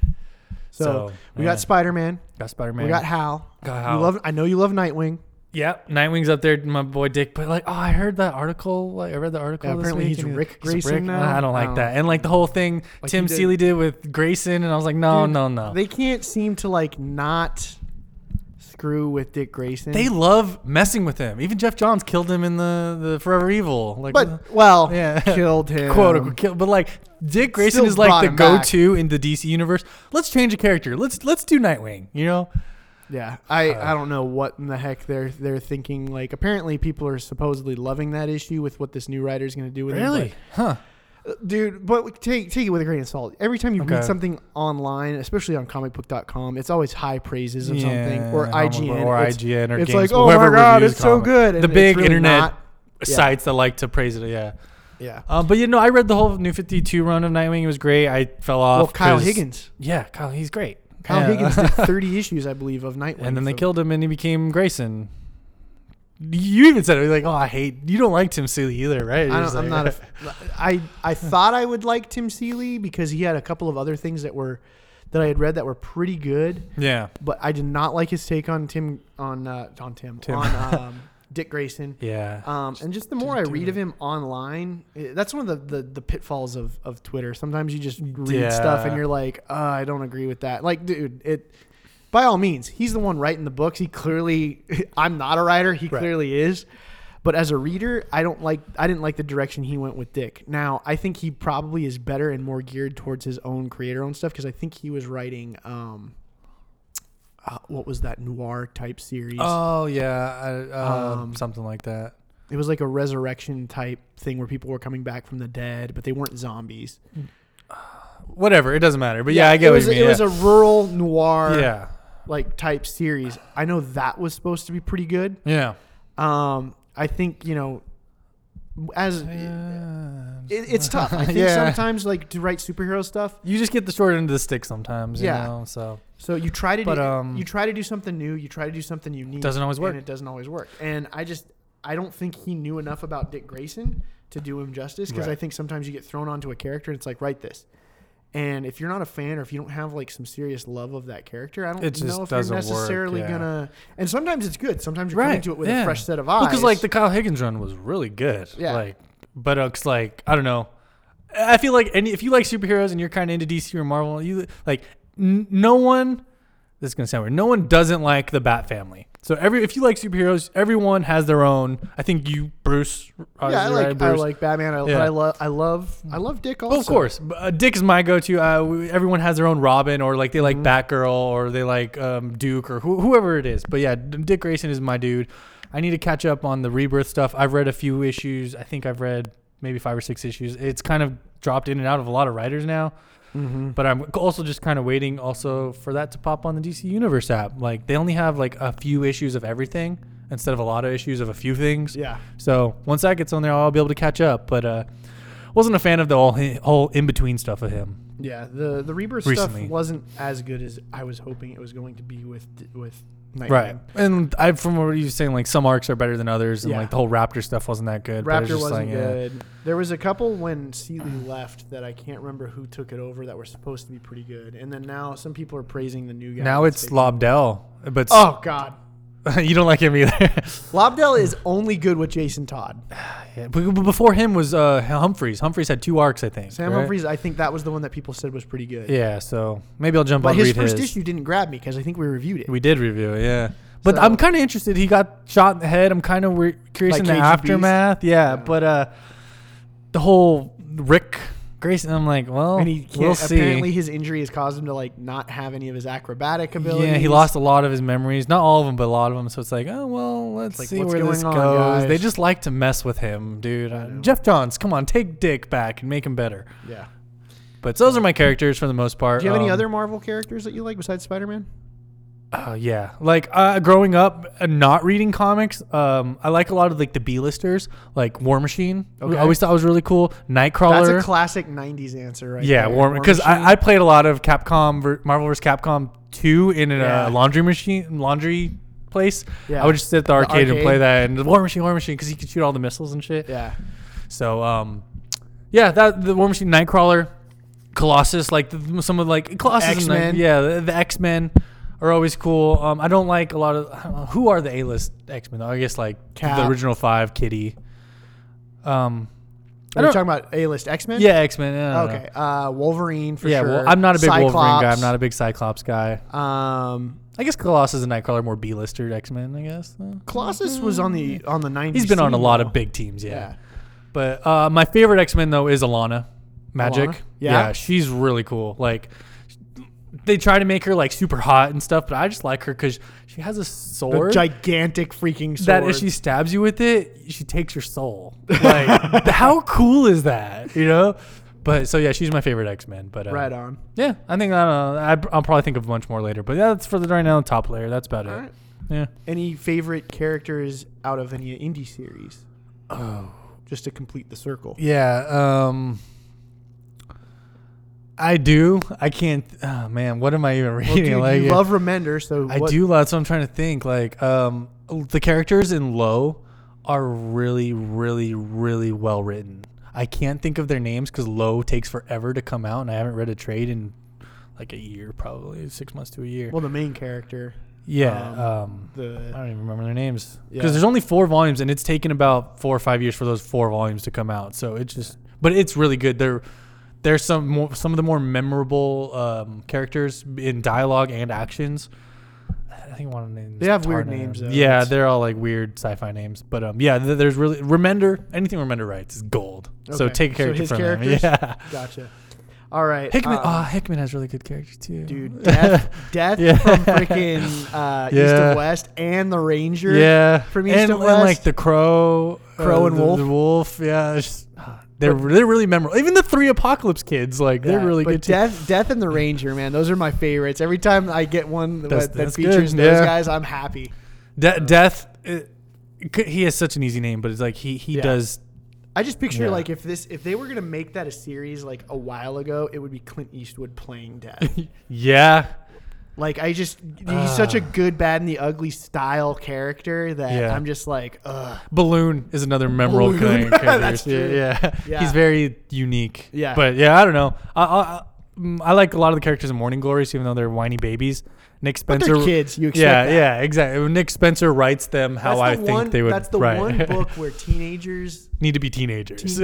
A: So we got Spider-Man.
B: Got Spider-Man.
A: We got Hal.
B: Got Hal.
A: You love. I know you love Nightwing.
B: Yeah, Nightwing's up there, my boy Dick. But like, I heard that article. Like, I read the article.
A: Yeah,
B: this
A: apparently
B: week,
A: he's
B: and
A: Rick
B: he's
A: Grayson now?
B: I don't like
A: Oh.
B: that. And like the whole thing
A: Like
B: Tim
A: he did-
B: Seeley did with Grayson, and I was like, no,
A: Dude,
B: no.
A: They can't seem to like not screw with Dick Grayson.
B: They love messing with him. Even Jeff Johns killed him in the Forever Evil. Like,
A: but well,
B: yeah.
A: killed him.
B: quote unquote killed. But like Dick Grayson
A: Still
B: is like
A: brought
B: the
A: him back.
B: go-to in the DC universe. Let's change a character. Let's do Nightwing. You know.
A: Yeah, I don't know what in the heck they're thinking. Like, apparently people are supposedly loving that issue with what this new writer's going to do with
B: Really?
A: it.
B: Huh.
A: But, dude, but take it with a grain of salt. Every time you
B: Okay.
A: read something online, especially on comicbook.com, it's always high praises of something,
B: Yeah,
A: or IGN.
B: or
A: It's-
B: IGN, or
A: it's
B: Games,
A: like, oh
B: whoever
A: my god,
B: reviews
A: it's so
B: comics.
A: good.
B: The
A: And
B: big
A: it's really
B: internet
A: not. Yeah.
B: sites that like to praise it. Yeah.
A: Yeah.
B: But you know, I read the whole New 52 run of Nightwing. It was great. I fell off.
A: Well, Kyle
B: 'cause-
A: Higgins.
B: Yeah, Kyle. He's great.
A: Kyle
B: Yeah.
A: Higgins did 30 issues, I believe, of Nightwing.
B: And then they
A: so-
B: killed him, and he became Grayson. You even said it. Like, oh, you don't like Tim Seeley either, right? You're just
A: I'm
B: like-
A: not I thought I would like Tim Seeley because he had a couple of other things that I had read that were pretty good,
B: Yeah.
A: but I did not like his take on Dick Grayson.
B: Yeah.
A: And just the more I read of him online, that's one of the pitfalls of Twitter. Sometimes you just read stuff and you're like, I don't agree with that. Like, dude, by all means, he's the one writing the books. He clearly, I'm not a writer. He
B: Right.
A: clearly is. But as a reader, I didn't like the direction he went with Dick. Now, I think he probably is better and more geared towards his own creator-owned stuff because I think he was writing, what was that noir type series?
B: Oh yeah. Something like that.
A: It was like a resurrection type thing where people were coming back from the dead, but they weren't zombies.
B: Whatever. It doesn't matter. But yeah, I get
A: it
B: what
A: was,
B: you mean.
A: It was a rural noir
B: yeah.
A: like type series. I know that was supposed to be pretty good.
B: Yeah.
A: I think, as it's tough. I think
B: Yeah.
A: sometimes like to write superhero stuff.
B: You just get the short end of the stick sometimes. You
A: Yeah.
B: know, so
A: So you try to
B: But,
A: you try to do something new. You try to do something unique.
B: Doesn't always work.
A: And it doesn't always work. And I don't think he knew enough about Dick Grayson to do him justice because
B: Right.
A: I think sometimes you get thrown onto a character and it's like, write this. And if you're not a fan or if you don't have like some serious love of that character, I don't
B: It just
A: know if you're
B: doesn't work,
A: necessarily
B: yeah.
A: gonna. And sometimes it's good. Sometimes you're coming to it with
B: yeah.
A: a fresh set of eyes.
B: Because like the Kyle Higgins run was really good.
A: Yeah.
B: Like, but it's like I don't know. I feel like if you like superheroes and you're kind of into DC or Marvel, you like no one. This is gonna sound weird. No one doesn't like the Bat family. So if you like superheroes, everyone has their own. I think you, Bruce.
A: I like Batman. But I love Dick also.
B: Well, of course, Dick is my go-to. Everyone has their own Robin, or like they like Batgirl, or they like Duke, or whoever it is. But yeah, Dick Grayson is my dude. I need to catch up on the Rebirth stuff. I've read a few issues. I think I've read maybe 5 or 6 issues. It's kind of dropped in and out of a lot of writers now.
A: Mm-hmm.
B: But I'm also just kind of waiting also for that to pop on the DC Universe app. Like they only have like a few issues of everything instead of a lot of issues of a few things.
A: Yeah.
B: So once that gets on there, I'll be able to catch up. But wasn't a fan of the whole in between stuff of him.
A: Yeah. The Rebirth
B: Recently.
A: stuff wasn't as good as I was hoping it was going to be with Nightwing.
B: Right. And from what you were saying, like some arcs are better than others, and
A: Yeah.
B: like the whole Raptor stuff wasn't that good. but it's
A: Raptor
B: just
A: wasn't
B: like, yeah.
A: good. There was a couple when Seeley left that I can't remember who took it over that were supposed to be pretty good. And then now some people are praising the new guy.
B: Now
A: that's
B: it's
A: taking-
B: Lobdell, but
A: Oh, God.
B: you don't like him either.
A: Lobdell is only good with Jason Todd.
B: Yeah, but before him was Humphreys. Humphreys had 2 arcs, I think.
A: Sam
B: right?
A: Humphries, I think that was the one that people said was pretty good.
B: Yeah, so maybe I'll jump
A: But
B: on
A: his
B: read
A: first issue didn't grab me because I think we reviewed it.
B: We did review it, yeah. But
A: So-
B: I'm kind of interested. He got shot in the head. I'm kind of curious
A: Like
B: in the
A: KGBs?
B: aftermath. Yeah,
A: Yeah.
B: but the whole Rick Grayson, I'm like, well,
A: And he can't,
B: we'll see.
A: apparently his injury has caused him to like not have any of his acrobatic abilities.
B: Yeah, he lost a lot of his memories. Not all of them, but a lot of them. So it's like, oh, well, let's
A: Like,
B: see
A: what's
B: where this
A: going on,
B: goes.
A: guys?
B: They just like to mess with him, dude.
A: know.
B: Jeff Johns, come on, take Dick back and make him better.
A: Yeah.
B: But those are my characters for the most part.
A: Do you have any other Marvel characters that you like besides Spider-Man?
B: Yeah. Like growing up and not reading comics, I like a lot of like the B-listers, like War Machine.
A: Okay.
B: I always thought was really cool. Nightcrawler.
A: That's a classic 90s answer, right?
B: Yeah,
A: there.
B: because
A: Machine.
B: I played a lot of Marvel vs. Capcom 2 in a
A: Yeah.
B: laundry place.
A: Yeah.
B: I would just sit at the arcade and
A: arcade.
B: play that, and War Machine, because he could shoot all the missiles and shit.
A: Yeah.
B: So, yeah, that the War Machine, Nightcrawler, Colossus, like some of like Colossus,
A: X-Men.
B: and the X-Men are always cool. I don't like a lot of I don't know, who are the A-list X-Men though? I guess like
A: Cap.
B: the original 5, Kitty.
A: Are you talking about A-list X-Men?
B: Yeah, X-Men. I don't
A: Okay. Wolverine for
B: know. Yeah,
A: sure.
B: well, I'm not a big Wolverine guy.
A: Cyclops.
B: I'm not a big Cyclops guy. I guess Colossus and Nightcrawler are more B-lister X-Men, I guess.
A: Colossus was on the 90s.
B: He's been on a
A: scene,
B: lot
A: though.
B: of big teams, yeah.
A: Yeah.
B: But my favorite X-Men though is Alana Magic.
A: Alana? Yeah?
B: She's really cool. Like they try to make her like super hot and stuff, but I just like her because she has a
A: The
B: sword
A: gigantic freaking sword.
B: that if she stabs you with it, she takes your soul. Like how cool is that? You know. But so yeah, she's my favorite X-Men. But
A: right on.
B: yeah, I think I'll probably think of a bunch more later. But yeah, that's for the right now the top layer. That's about
A: All
B: it.
A: right.
B: Yeah.
A: Any favorite characters out of any indie series? Oh. Just to complete the circle.
B: Yeah. I do. I can't. Oh man, what am I even reading?
A: Well, dude, you love Remender, so
B: I do. That's what I'm trying to think. Like, the characters in Low are really, really, really well written. I can't think of their names because Low takes forever to come out, and I haven't read a trade in like a year, probably 6 months to a year.
A: Well, the main character.
B: Yeah. I
A: The
B: don't even remember their names
A: Yeah.
B: because there's only 4 volumes, and it's taken about 4 or 5 years for those 4 volumes to come out. So it's just, but it's really good. There's some of the more memorable characters in dialogue and actions. I think one of the names.
A: They have weird
B: Tarna.
A: names, though.
B: Yeah,
A: It's-
B: they're all like weird sci-fi names. But yeah, there's really Remender. Anything Remender writes is gold. So
A: Okay.
B: take a character
A: his
B: from
A: characters?
B: him. Yeah.
A: Gotcha. All right.
B: Hickman. Hickman has really good characters too.
A: Dude, Death
B: Yeah.
A: from freaking East
B: Yeah.
A: of West and the Ranger.
B: Yeah,
A: from East
B: and,
A: of
B: and like
A: West.
B: the Crow,
A: And Wolf.
B: The Wolf. Yeah, it's just, they're really memorable. Even the 3 Apocalypse kids, like they're
A: Yeah,
B: really
A: but
B: good too.
A: Death and the Ranger, man, those are my favorites. Every time I get one that
B: That's
A: features
B: good,
A: those
B: yeah.
A: guys, I'm happy.
B: Death. He has such an easy name, but it's like he
A: Yeah.
B: does.
A: I just picture
B: Yeah.
A: like if they were gonna make that a series like a while ago, it would be Clint Eastwood playing Death.
B: Yeah,
A: Like he's such a good, bad, and the ugly style character that
B: Yeah.
A: I'm just like, ugh.
B: Balloon is another memorable
A: Balloon.
B: character.
A: That's true. Yeah.
B: He's very unique.
A: Yeah.
B: but yeah, I don't know. I like a lot of the characters in Morning Glories, even though they're whiny babies. Nick
A: But
B: Spencer.
A: they're kids. You expect
B: Yeah,
A: that.
B: yeah, exactly. When Nick Spencer writes them how I think they would.
A: That's the
B: right.
A: one book where teenagers,
B: need to be teenagers.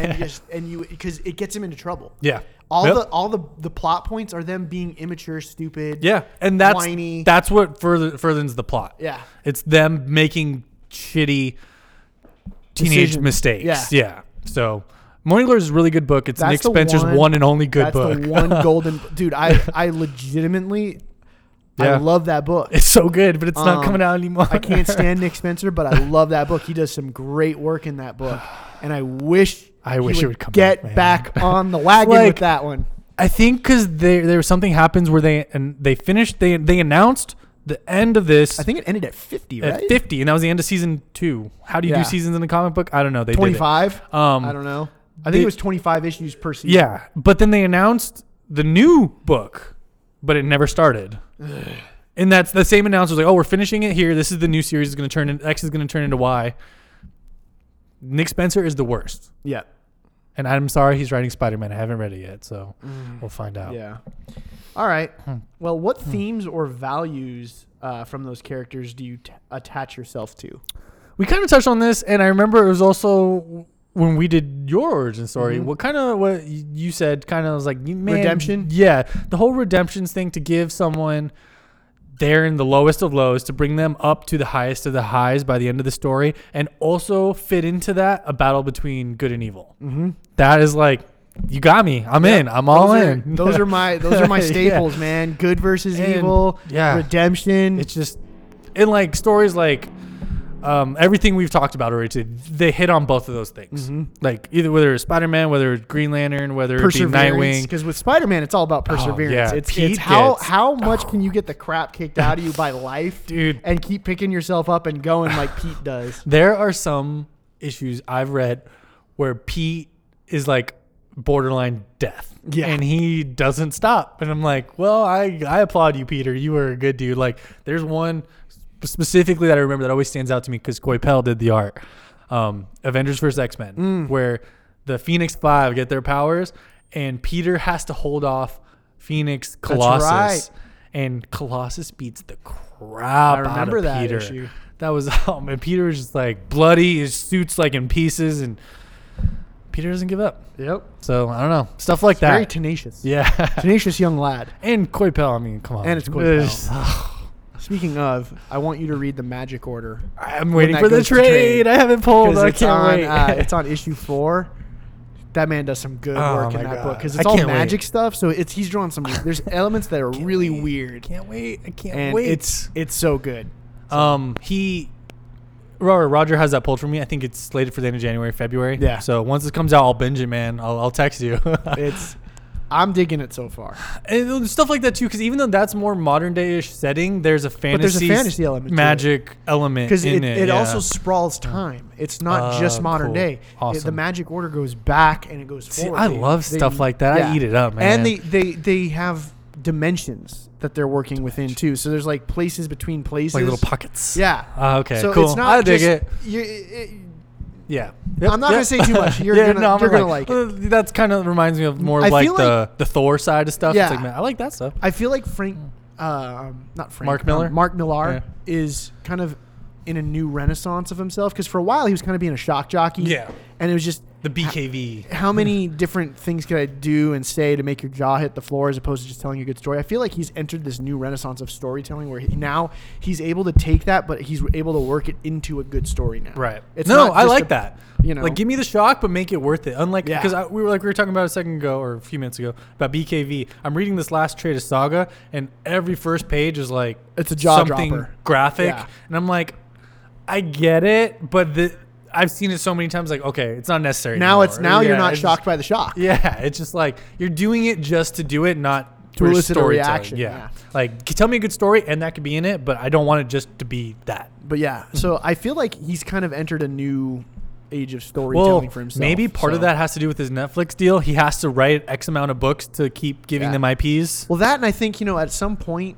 A: because it gets them into trouble.
B: yeah.
A: All
B: Yep.
A: the plot points are them being immature, stupid.
B: Yeah, and that's
A: whiny.
B: what furthers the plot.
A: Yeah.
B: It's them making shitty teenage
A: Decisions.
B: mistakes.
A: Yeah.
B: Yeah. So Morning Glory is a really good book. It's
A: That's
B: Nick
A: the
B: Spencer's one and only good
A: That's
B: book.
A: the one golden dude. I legitimately, I
B: Yeah.
A: love that book.
B: It's so good, but it's not coming out anymore.
A: I can't stand Nick Spencer, but I love that book. He does some great work in that book, and I wish
B: I wish it would come
A: get
B: back, man.
A: back on the wagon
B: Like,
A: with that one.
B: I think because there was something happens where they finished. They announced the end of this.
A: I think it ended at 50,
B: at
A: right?
B: 50, and that was the end of season 2. How do you
A: Yeah.
B: do seasons in a comic book? I don't know. They
A: 25.
B: Did it.
A: I don't know. I think it was 25 issues per season.
B: Yeah, but then they announced the new book, but it never started. And that's the same announcement. Like, oh, we're finishing it here. This is the new series. Is going to turn in X is going to turn into Y. Nick Spencer is the worst,
A: Yeah.
B: and I'm sorry he's writing Spider-Man. I haven't read it yet, so we'll find out.
A: Yeah. All right. Well, what themes or values from those characters do you attach yourself to?
B: We kind of touched on this, and I remember it was also when we did your origin story.
A: Mhm.
B: What you said kind of was like, man,
A: Redemption?
B: Yeah, the whole redemptions thing to give someone they're in the lowest of lows to bring them up to the highest of the highs by the end of the story, and also fit into that a battle between good and evil.
A: Mm-hmm.
B: That is like you got me. I'm in. I'm all in.
A: Those are my staples, man. Good versus
B: And,
A: evil.
B: yeah.
A: Redemption.
B: It's just, and like stories like everything we've talked about already, they hit on both of those things. Like either whether it's Spider-Man, whether it's Green Lantern, whether it be Nightwing.
A: Because with Spider-Man, it's all about perseverance.
B: yeah.
A: It's
B: Pete
A: how much can you get the crap kicked out of you by life,
B: Dude.
A: and keep picking yourself up and going like Pete does.
B: There are some issues I've read where Pete is like borderline death.
A: Yeah.
B: And he doesn't stop. And I'm like, well, I applaud you, Peter. You were a good dude. Like, there's one specifically that I remember that always stands out to me because Coipel did the art. Avengers vs. X-Men, where the Phoenix Five get their powers, and Peter has to hold off Phoenix Colossus.
A: right.
B: And Colossus beats the crap out
A: remember
B: of
A: that
B: Peter.
A: issue.
B: That was, oh man, Peter was just like bloody. His suit's like in pieces, and Peter doesn't give up.
A: Yep.
B: So I don't know, stuff like
A: Very
B: that.
A: tenacious.
B: Yeah,
A: Tenacious young lad.
B: and Coipel. I mean, come on.
A: And it's Coipel. Speaking of, I want you to read the Magic Order.
B: I'm waiting
A: that
B: for the
A: goes to
B: trade.
A: trade.
B: I haven't pulled. I
A: It's
B: can't
A: on,
B: wait.
A: it's on issue 4. That man does some good
B: Oh
A: work in
B: my
A: that
B: God.
A: book because
B: I
A: it's all
B: can't wait.
A: magic stuff. So he's drawing some. There's elements that are really weird,
B: Can't wait. I can't
A: and
B: wait.
A: it's so good.
B: Roger has that pulled for me. I think it's slated for the end of January, February.
A: Yeah.
B: So once it comes out, I'll binge it, man. I'll text you.
A: I'm digging it so far.
B: And stuff like that too, because even though that's more modern day-ish setting, there's a fantasy,
A: element to it.
B: magic element
A: Because
B: in
A: it
B: yeah.
A: also sprawls time. It's not just modern
B: cool.
A: day.
B: Awesome.
A: The Magic Order goes back and it goes
B: See,
A: forward.
B: I love stuff like that. I eat it up,
A: And
B: man.
A: they have dimensions that they're working within too. So there's like places between places.
B: like little pockets.
A: Yeah.
B: Okay.
A: So
B: cool.
A: it's not
B: I dig
A: just,
B: it. Yeah.
A: I'm not gonna say too much. You're gonna like it.
B: That's kind of reminds me of more
A: I
B: like
A: feel
B: the Thor side of stuff.
A: Yeah.
B: It's like, man, I like that stuff.
A: I feel like not Frank.
B: Mark Miller?
A: Mark Millar
B: Yeah.
A: is kind of in a new renaissance of himself because for a while he was kind of being a shock jockey.
B: Yeah.
A: And it was just
B: The BKV.
A: how many different things could I do and say to make your jaw hit the floor as opposed to just telling a good story? I feel like he's entered this new renaissance of storytelling where now he's able to take that, but he's able to work it into a good story now.
B: Right.
A: It's
B: No,
A: not
B: I
A: just
B: like that.
A: You know,
B: Like, give me the shock, but make it worth it. Unlike,
A: Yeah.
B: because we were talking about a second ago or a few minutes ago about BKV. I'm reading this last trade of Saga, and every first page is like
A: It's a jaw
B: something
A: dropper.
B: graphic,
A: Yeah.
B: and I'm like, I get it, but I've seen it so many times. Like, okay, it's not necessary.
A: now
B: anymore.
A: you're not
B: it's
A: shocked by the shock.
B: Just, yeah, it's just like you're doing it just to do it, not
A: To
B: for
A: elicit a
B: storytelling.
A: reaction,
B: Yeah.
A: yeah.
B: Like, tell me a good story, and that could be in it, but I don't want it just to be that.
A: But yeah, so I feel like he's kind of entered a new age of storytelling for himself.
B: Maybe part of that has to do with his Netflix deal. He has to write X amount of books to keep giving
A: Yeah.
B: them IPs.
A: Well, that, and I think, at some point,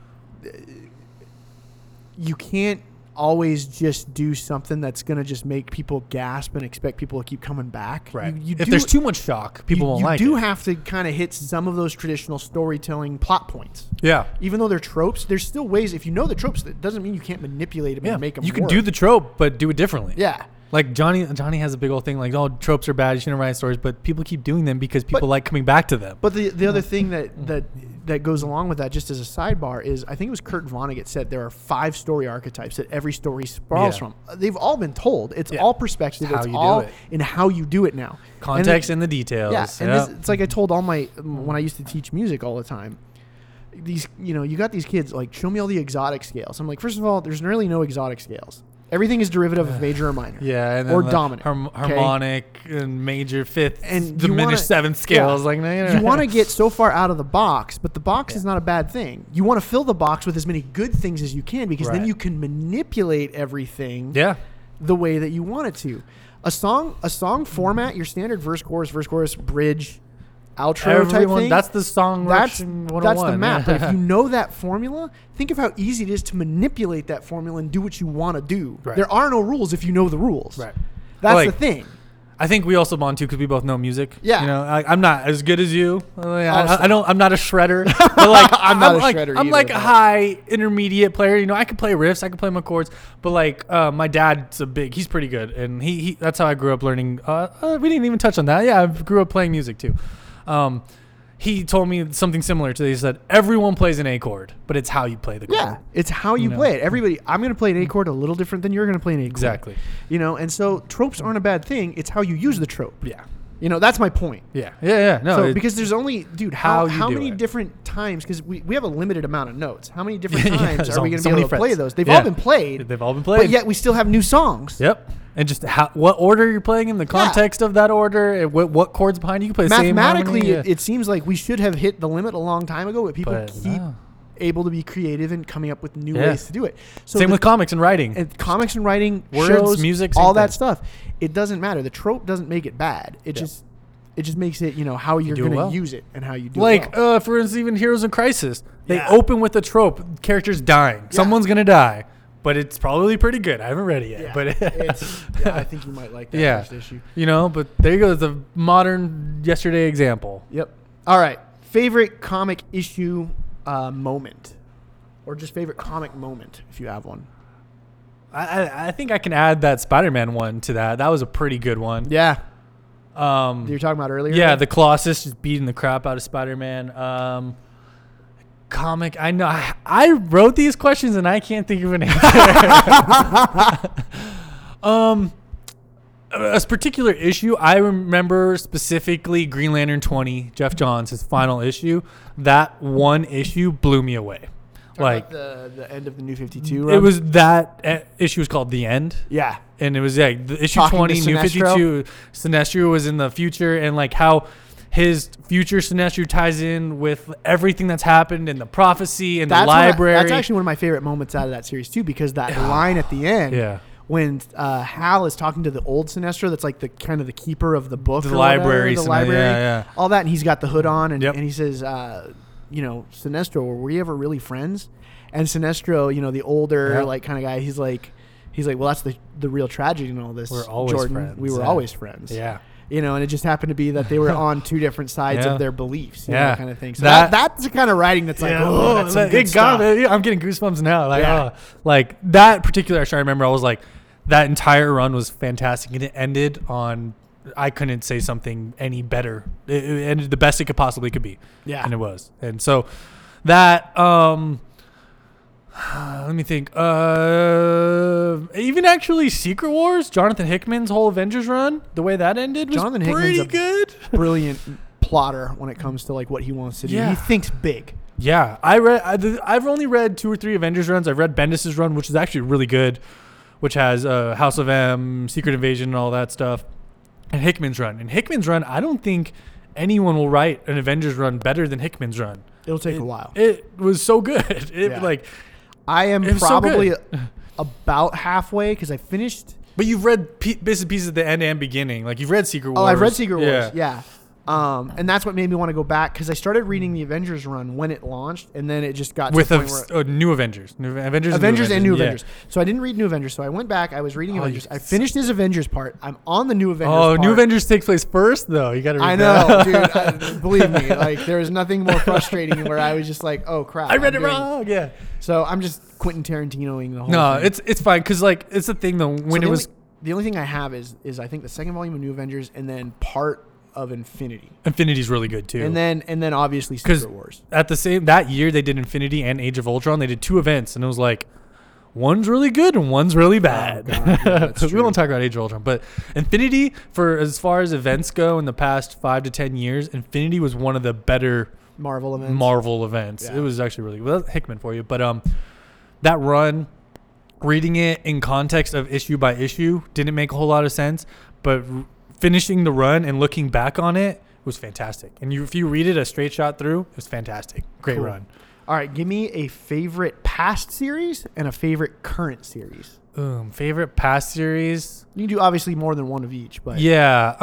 A: you can't always just do something that's going to just make people gasp and expect people to keep coming back. You
B: If there's too much shock, people won't like it.
A: You do have to kind of hit some of those traditional storytelling plot points.
B: Yeah.
A: Even though they're tropes, there's still ways. If you know the tropes, that doesn't mean you can't manipulate them
B: Yeah.
A: and make them
B: You can
A: work.
B: do the trope, but do it differently.
A: Yeah.
B: Like Johnny has a big old thing like, oh, tropes are bad. You shouldn't write stories, but people keep doing them because people like coming back to them.
A: But the other thing that goes along with that, just as a sidebar, is I think it was Kurt Vonnegut said there are 5 story archetypes that every story sprawls from. They've all been told. It's all perspective.
B: It's how
A: It's
B: you do
A: all
B: it.
A: in how you do it now.
B: Context and the details.
A: Yeah, and it's like I told all when I used to teach music all the time. These, you got these kids like, show me all the exotic scales. I'm like, first of all, there's really no exotic scales. Everything is derivative of major or minor.
B: Yeah, and
A: or
B: then
A: dominant.
B: Harmonic and major fifth
A: And
B: diminished seventh scales. Like, no,
A: you want to get so far out of the box, but the box is not a bad thing. You want to fill the box with as many good things as you can because then
B: Right.
A: you can manipulate everything
B: Yeah.
A: the way that you want it to. A song format, your standard verse, chorus, bridge, outro type thing.
B: That's the song.
A: That's
B: Russian
A: the map.
B: 101.
A: But if you know that formula, think of how easy it is to manipulate that formula and do what you want to do.
B: Right.
A: There are no rules if you know the rules.
B: Right.
A: That's
B: Like,
A: the thing.
B: I think we also bond too because we both know music.
A: Yeah.
B: I'm not as good as you.
A: Also.
B: I'm not a shredder. But like,
A: I'm not a
B: like,
A: shredder
B: I'm
A: either,
B: like a
A: but-
B: high intermediate player. I can play riffs. I can play my chords. But like, my dad's he's pretty good, and he that's how I grew up learning. We didn't even touch on that. Yeah, I grew up playing music too. He told me something similar to this. He said, everyone plays an A chord, but it's how you play the chord.
A: Yeah, it's how you play it. Everybody, I'm going to play an A chord a little different than you're going to play an A chord.
B: Exactly.
A: And so tropes aren't a bad thing. It's how you use the trope.
B: Yeah.
A: You know, that's my point.
B: Yeah. No,
A: So because there's only, dude,
B: how
A: how
B: you do
A: many
B: it.
A: different times? Because we have a limited amount of notes. How many different
B: Yeah,
A: times
B: there's
A: are we going to
B: so
A: be
B: many
A: able to play
B: frets.
A: those? They've
B: Yeah.
A: all been played.
B: They've all been played.
A: But yet we still have new songs.
B: Yep. And just what order you're playing in, the context of that order, and what chords behind you. You can play the same
A: Mathematically,
B: harmony,
A: it seems like we should have hit the limit a long time ago, but people keep
B: no.
A: able to be creative and coming up with new
B: Yeah.
A: ways to do it. So
B: Same with comics and writing.
A: and comics and writing,
B: Words,
A: shows,
B: music, same
A: all that
B: thing.
A: stuff. It doesn't matter. The trope doesn't make it bad. It just makes it, how you're
B: do it
A: going to
B: well.
A: use it and how you do
B: Like,
A: it. Well.
B: for instance, even Heroes in Crisis. They
A: Yeah.
B: open with a trope. Characters dying. Someone's going to die. But it's probably pretty good. I haven't read it yet.
A: Yeah,
B: But
A: I think you might like that
B: Yeah.
A: first issue.
B: but there you go. It's a modern yesterday example.
A: Yep. All right. Favorite comic issue moment, or just favorite comic moment if you have one.
B: I think I can add that Spider-Man one to that. That was a pretty good one.
A: Yeah.
B: Um,
A: You were talking about earlier.
B: Yeah, the Colossus just beating the crap out of Spider-Man. Comic, I know. I wrote these questions and I can't think of an answer. A particular issue, I remember specifically Green Lantern 20, Jeff Johns, his final issue. That one issue blew me away.
A: Like the end of the New 52.
B: It was that issue was called The End.
A: Yeah.
B: And it was the issue
A: Talking
B: 20,
A: to
B: New
A: Sinestro.
B: 52. Sinestro was in the future, and like how his future Sinestro ties in with everything that's happened in the prophecy and the library.
A: That's actually one of my favorite moments out of that series too, because that line at the end,
B: Yeah.
A: when Hal is talking to the old Sinestro, that's like the kind of the keeper of the book,
B: The
A: or whatever,
B: library,
A: the
B: Sinestro,
A: library,
B: yeah.
A: all that, and he's got the hood on, and,
B: Yep.
A: and he says, Sinestro, were we ever really friends? And Sinestro, the older
B: Yeah.
A: like kind of guy, he's like, well, that's the real tragedy in all this.
B: We're always
A: Jordan.
B: friends,
A: We were
B: yeah.
A: always friends.
B: Yeah.
A: And it just happened to be that they were on two different sides
B: Yeah.
A: of their beliefs,
B: Yeah.
A: kind of thing. So
B: That-
A: that's the kind of writing that's like, that's some
B: it
A: good
B: got
A: stuff.
B: me. I'm getting goosebumps now.
A: Yeah.
B: Like that particular issue, I remember I was like, that entire run was fantastic, and it ended on. I couldn't say something any better. It ended the best it could possibly could be.
A: Yeah.
B: And it was. And so that let me think. Even actually Secret Wars, Jonathan Hickman's whole Avengers run, the way that ended was
A: Jonathan
B: pretty
A: Hickman's a-
B: good.
A: Brilliant plotter when it comes to like what he wants to do.
B: Yeah.
A: He thinks big.
B: Yeah, I've only read 2 or 3 Avengers runs. I've read Bendis' run, which is actually really good, which has House of M, Secret Invasion, and all that stuff, and Hickman's run. And Hickman's run, I don't think anyone will write an Avengers run better than Hickman's run.
A: It'll take a while.
B: It was so good.
A: Yeah. I am
B: it was so
A: probably
B: good.
A: about halfway because I finished.
B: But you've read bits and pieces at the end and beginning. Like you've read Secret Wars.
A: Oh, I've read Secret Wars. Yeah. And that's what made me want to go back because I started reading the Avengers run when it launched, and then it just got
B: With
A: to the point where
B: New Avengers.
A: Avengers and New
B: Yeah.
A: Avengers. So I didn't read New Avengers. So I went back. I was reading
B: Oh,
A: Avengers.
B: you-
A: I finished his Avengers part. I'm on the New Avengers
B: Oh,
A: part.
B: New Avengers takes place first, though. You got to read
A: I
B: that.
A: know, dude. Believe me, like there was nothing more frustrating where I was just like, "Oh crap!"
B: I read
A: I'm
B: it
A: doing-
B: wrong. Yeah.
A: So I'm just Quentin Tarantinoing the whole.
B: No,
A: thing.
B: it's fine because like it's the thing though
A: So
B: when
A: the
B: it was
A: the only thing I have is I think the second volume of New Avengers and then part of Infinity,
B: Infinity's really good too.
A: and then obviously
B: 'Cause
A: Secret Wars.
B: at the same that year they did Infinity and Age of Ultron. They did 2 events and it was like one's really good and one's really bad.
A: God, yeah, that's
B: we
A: true.
B: won't talk about Age of Ultron, but Infinity for as far as events go in the past 5 to 10 years, Infinity was one of the better
A: Marvel events.
B: Marvel events.
A: Yeah.
B: It was actually really good. Well, that's Hickman for you, but that run, reading it in context of issue by issue, didn't make a whole lot of sense. But finishing the run and looking back on it was fantastic. And if you read it a straight shot through, it was fantastic. Great
A: Cool.
B: run.
A: All right, give me a favorite past series and a favorite current series.
B: Favorite past series?
A: You can do obviously more than one of each, but
B: Yeah.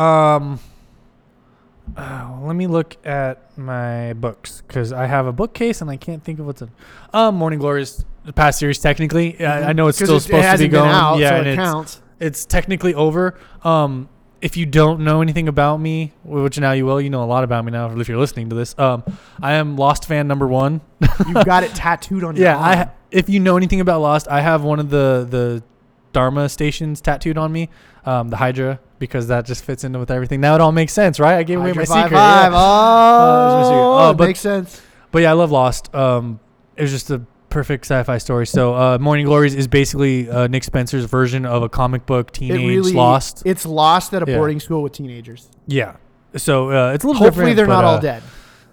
B: Let me look at my books because I have a bookcase and I can't think of what's in. Morning Glories, the past series technically. I know it's
A: 'Cause
B: still
A: it
B: supposed to be
A: hasn't been
B: going.
A: out,
B: yeah,
A: so
B: and
A: it counts.
B: it's technically over. If you don't know anything about me, which now you will, you know a lot about me now if you're listening to this. I am Lost fan number 1.
A: You've got it tattooed on your
B: Yeah,
A: arm.
B: if you know anything about Lost, I have one of the Dharma stations tattooed on me, the Hydra, because that just fits into with everything. Now it all makes sense, right? I gave away my
A: Hydra
B: secret.
A: 5-5.
B: Yeah. There's my secret.
A: Oh,
B: But
A: makes sense.
B: But yeah, I love Lost. It was just a perfect sci-fi story. So Morning Glories is basically Nick Spencer's version of a comic book teenage Lost.
A: It's Lost at a
B: Yeah.
A: boarding school with teenagers.
B: Yeah. So it's a little
A: Hopefully
B: different.
A: they're
B: but,
A: not all dead.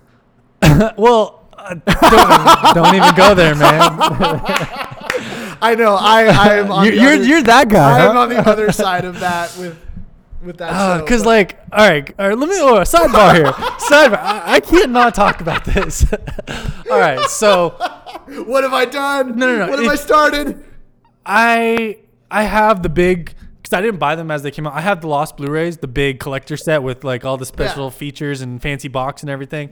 B: Well, don't even go there, man.
A: I know. I'm on
B: You're that guy.
A: I'm on the other side of that with that.
B: Because like, all right. Let me sidebar here. Sidebar. I can't not talk about this. All right. So,
A: what have I done?
B: No.
A: What have I started?
B: I have the big. Because I didn't buy them as they came out. I have the Lost Blu-rays, the big collector set with like all the special features and fancy box and everything.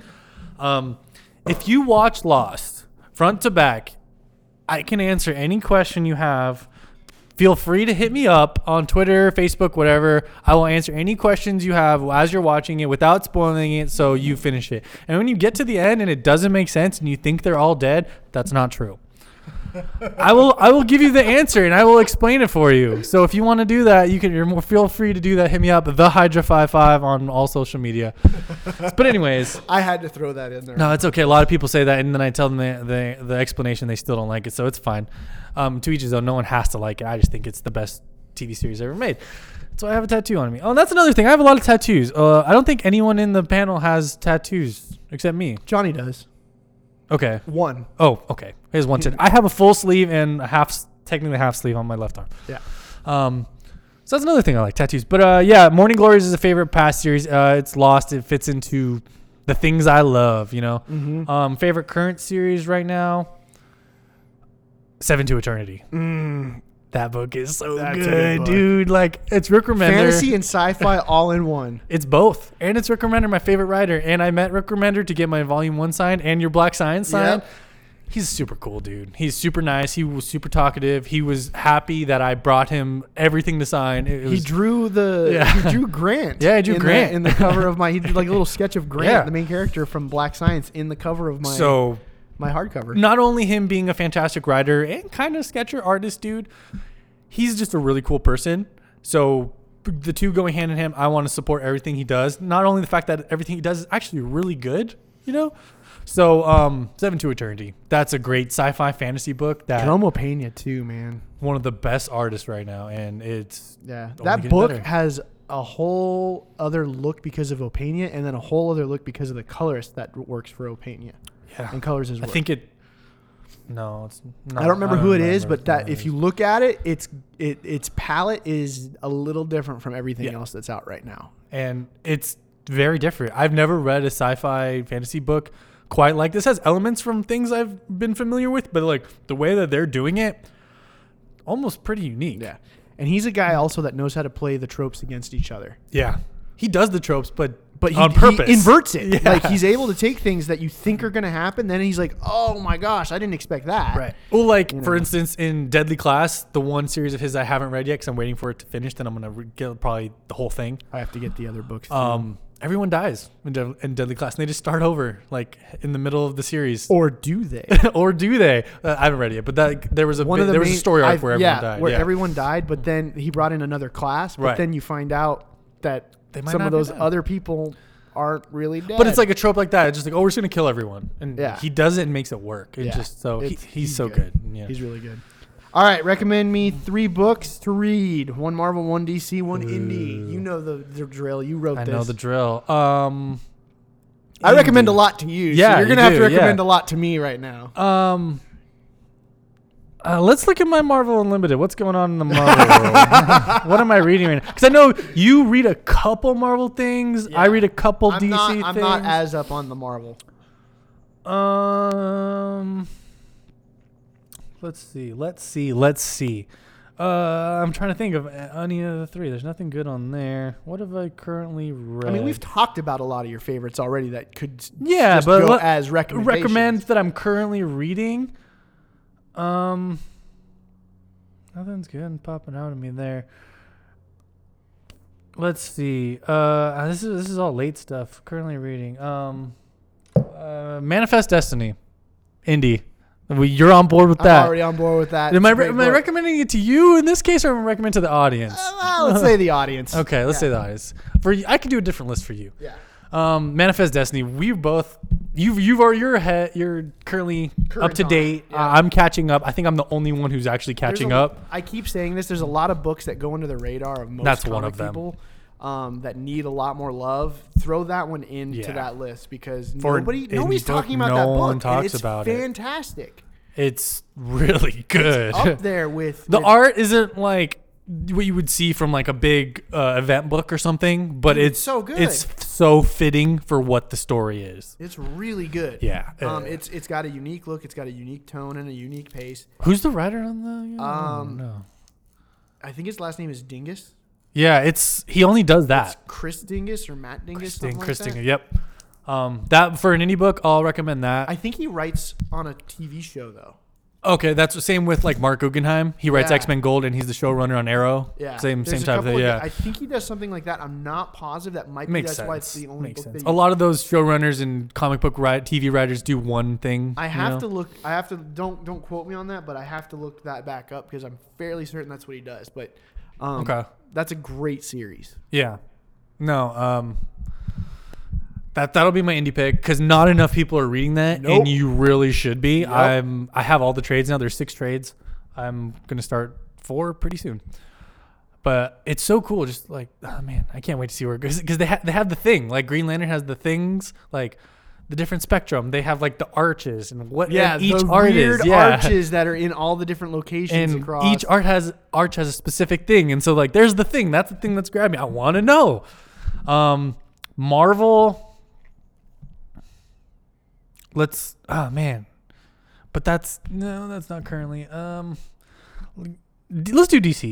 B: If you watch Lost front to back, I can answer any question you have. Feel free to hit me up on Twitter, Facebook, whatever. I will answer any questions you have as you're watching it without spoiling it so you finish it. And when you get to the end and it doesn't make sense and you think they're all dead, that's not true. I will give you the answer and I will explain it for you. So if you want to do that, feel free to do that. Hit me up, the Hydra55 on all social media. But anyways,
A: I had to throw that in there.
B: no, it's okay. A lot of people say that, and then I tell them the explanation. They still don't like it, so it's fine. To each his own. No one has to like it. I just think it's the best TV series ever made. So I have a tattoo on me. Oh, and that's another thing. I have a lot of tattoos. I don't think anyone in the panel has tattoos except me.
A: Johnny does.
B: Okay.
A: One.
B: Oh, okay. Here's one tattoo. I have a full sleeve and technically half sleeve on my left arm.
A: Yeah.
B: So that's another thing I like, tattoos. But yeah, Morning Glories is a favorite past series. It's Lost. It fits into the things I love, you know.
A: Mm-hmm.
B: Favorite current series right now, Seven to Eternity. That book is so
A: That's a
B: good,
A: good book.
B: dude. Like, it's Rick Remender.
A: Fantasy and sci-fi all in one.
B: It's both. And it's Rick Remender, my favorite writer. And I met Rick Remender to get my Volume 1 signed and your Black Science signed.
A: Yep.
B: He's super cool, dude. He's super nice. He was super talkative. He was happy that I brought him everything to sign.
A: He drew Grant.
B: Yeah, I drew Grant.
A: in the cover of my. He did like a little sketch of Grant,
B: Yeah.
A: the main character from Black Science, in the cover of my my hardcover.
B: Not only him being a fantastic writer and kind of sketcher artist, dude, he's just a really cool person. So the two going hand in hand, I want to support everything he does. Not only the fact that everything he does is actually really good, you know. So, Seven to Eternity. That's a great sci-fi fantasy book. That
A: Jerome Pena too, man.
B: one of the best artists right now, and it's
A: Yeah,
B: only
A: that
B: getting
A: book
B: better.
A: has a whole other look because of Opena, and then a whole other look because of the colorist that works for Opena
B: Yeah,
A: and colors his
B: I
A: work.
B: think it. No, it's not.
A: I don't remember who it is,
B: remember
A: but that
B: who it
A: if
B: is.
A: you look at it, its palette is a little different from everything
B: Yeah.
A: else that's out right now.
B: And it's very different. I've never read a sci-fi fantasy book quite like this. Has elements from things I've been familiar with, but like the way that they're doing it, almost pretty unique.
A: Yeah, and he's a guy also that knows how to play the tropes against each other.
B: Yeah. He does the tropes, but
A: But
B: on purpose.
A: he inverts it.
B: Yeah.
A: Like he's able to take things that you think are going to happen, then he's like, "Oh my gosh, I didn't expect that."
B: Right. Well, like,
A: You
B: for
A: know.
B: instance, in Deadly Class, the one series of his I haven't read yet because I'm waiting for it to finish. Then I'm going to get probably the whole thing.
A: I have to get the other books. Too.
B: Everyone dies in Deadly Class, and they just start over, like, in the middle of the series.
A: Or do they?
B: Or do they? I haven't read it yet, but there was a story arc where everyone died.
A: Where
B: yeah.
A: everyone died, but then he brought in another class. But
B: Right.
A: then you find out that
B: They might
A: some
B: not
A: of
B: be
A: those
B: dead.
A: other people aren't really dead.
B: But it's like a trope like that. It's just like, oh, we're just gonna kill everyone, and
A: Yeah.
B: he does it and makes it work. It
A: Yeah.
B: just so he's so
A: good.
B: good. Yeah.
A: He's really good. All right, recommend me 3 books to read. 1 Marvel, 1 DC, 1 indie. You know the drill. You wrote
B: I
A: this.
B: know the drill.
A: I recommend a lot to you.
B: Yeah,
A: so you're
B: you
A: gonna have to
B: do,
A: recommend
B: yeah.
A: a lot to me right now.
B: Let's look at my Marvel Unlimited. What's going on in the Marvel world? What am I reading right now? Because I know you read a couple Marvel things.
A: Yeah.
B: I read a couple
A: I'm
B: DC
A: not,
B: things.
A: I'm not as up on the Marvel.
B: Let's see. I'm trying to think of any of the 3. There's nothing good on there. What have I currently read?
A: I mean, we've talked about a lot of your favorites already that could
B: Yeah,
A: just
B: but
A: go
B: let-
A: as recommendations.
B: recommend that I'm currently reading. Nothing's good popping out at me there. Let's see. This is all late stuff. Currently reading. Manifest Destiny, indie. You're on board with
A: I'm
B: that.
A: already on board with that.
B: Am
A: It's
B: I
A: a great book.
B: recommending it to you in this case, or am I recommending to the audience?
A: Well, let's say the audience.
B: Okay, let's
A: Yeah.
B: say the audience. I could do a different list for you.
A: Yeah.
B: Manifest Destiny. We've both. You're ahead. You're currently
A: Current
B: up to
A: on
B: date.
A: it, yeah.
B: I'm catching up. I think I'm the only one who's actually
A: There's
B: catching
A: a-
B: up.
A: I keep saying this. There's a lot of books that go under the radar of most
B: That's one
A: comic
B: of them.
A: people. that need a lot more love, throw that one into that list because nobody's talking about that book.
B: one talks
A: and it's
B: about it.
A: Fantastic.
B: It's really good.
A: It's up there with
B: the art isn't like what you would see from like a big event book or something, but it's
A: so good.
B: It's so fitting for what the story is.
A: It's really good.
B: Yeah.
A: It's got a unique look. It's got a unique tone and a unique pace.
B: Who's the writer on the? No.
A: I think his last name is Dingus.
B: Yeah, he only does that.
A: It's Chris Dingus or Matt Dingus.
B: Chris Dingus. Yep. That for an indie book, I'll recommend that.
A: I think he writes on a TV show though.
B: Okay, that's the same with like Mark Guggenheim. He writes X-Men Gold, and he's the showrunner on Arrow.
A: Yeah,
B: same type of thing. Yeah,
A: I think he does something like that. I'm not positive. That might be that's why it's the only book.
B: A lot of those showrunners and comic book TV writers do one thing.
A: I have to look. I have to don't quote me on that, but I have to look that back up because I'm fairly certain that's what he does. But okay, that's a great series.
B: Yeah, no, That'll be my indie pick because not enough people are reading that, and you really should be. Yep. I have all the trades now. There's 6 trades. I'm gonna start 4 pretty soon. But it's so cool. Just like, oh man, I can't wait to see where it goes because they have the thing. Like Green Lantern has the things like the different spectrum. They have like the arches and what each art is.
A: Arches that are in all the different locations
B: and
A: across.
B: Each arch has a specific thing, and so like there's the thing. That's the thing that's grabbed me. I want to know. Marvel. But that's not currently. Let's do DC.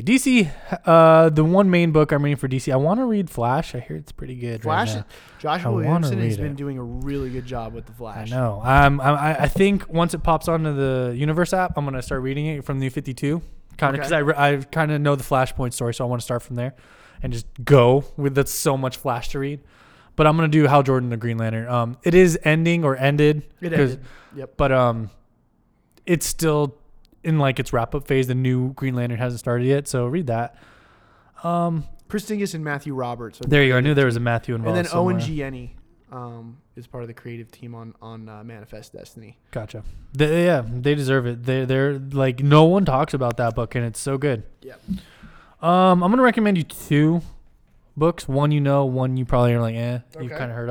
B: DC, the one main book I'm reading for DC. I want to read Flash. I hear it's pretty good.
A: Flash,
B: right now.
A: Joshua Williamson has been doing a really good job with the Flash.
B: I know. I think once it pops onto the Universe app, I'm gonna start reading it from New 52. Kind of because I kind of know the Flashpoint story, so I want to start from there and just go with. That's so much Flash to read. But I'm gonna do Hal Jordan the Green Lantern. It is ending or ended.
A: It ended. Yep.
B: But it's still in like its wrap up phase. The new Green Lantern hasn't started yet, so read that.
A: Chris Dingus and Matthew Roberts.
B: There you go. I knew there was a Matthew involved.
A: And then
B: somewhere.
A: Owen Gieni is part of the creative team on Manifest Destiny.
B: Gotcha. They deserve it. They're like no one talks about that book, and it's so good.
A: Yep.
B: I'm gonna recommend you 2 books. One one you probably are like, you've kind of heard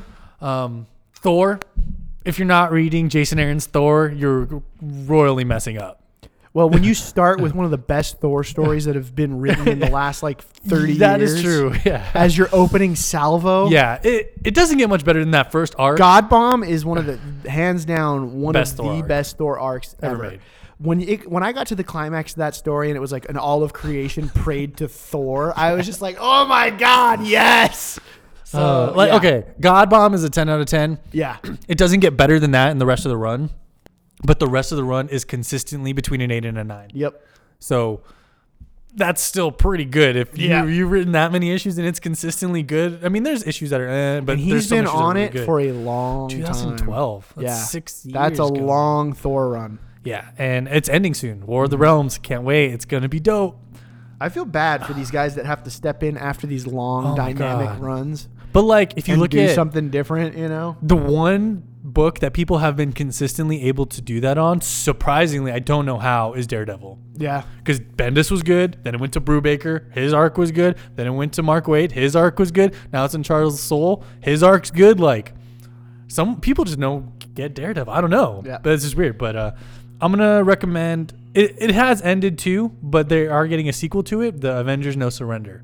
B: of. Thor. If you're not reading Jason Aaron's Thor, you're royally messing up.
A: Well, when you start with one of the best Thor stories that have been written in the last like 30 years.
B: That is true, yeah.
A: As your opening salvo.
B: Yeah, it doesn't get much better than that first arc.
A: God Bomb is one of the, hands down, one
B: best
A: of the best Thor arcs ever
B: made.
A: When I got to the climax of that story and it was like an all of creation prayed to Thor, I was just like, oh my God, yes. So
B: okay, God Bomb is a 10 out of 10.
A: Yeah.
B: It doesn't get better than that in the rest of the run, but the rest of the run is consistently between an 8 and a 9.
A: Yep.
B: So that's still pretty good. If you've written that many issues and it's consistently good. I mean, there's issues that are, but
A: and he's been on it really for a long
B: 2012.
A: time.
B: That's 6 years.
A: That's a long Thor run.
B: Yeah, and it's ending soon. War of the Realms. Can't wait. It's gonna be dope.
A: I feel bad for these guys that have to step in after these long dynamic runs.
B: But like, if you look at
A: something different, the
B: one book that people have been consistently able to do that on, surprisingly, I don't know how, is Daredevil.
A: Yeah,
B: because Bendis was good. Then it went to Brubaker. His arc was good. Then it went to Mark Waid. His arc was good. Now it's in Charles Soule. His arc's good. Like, some people just get Daredevil. I don't know.
A: Yeah.
B: But it's just weird. But I'm gonna recommend. It has ended too, but they are getting a sequel to it. The Avengers: No Surrender.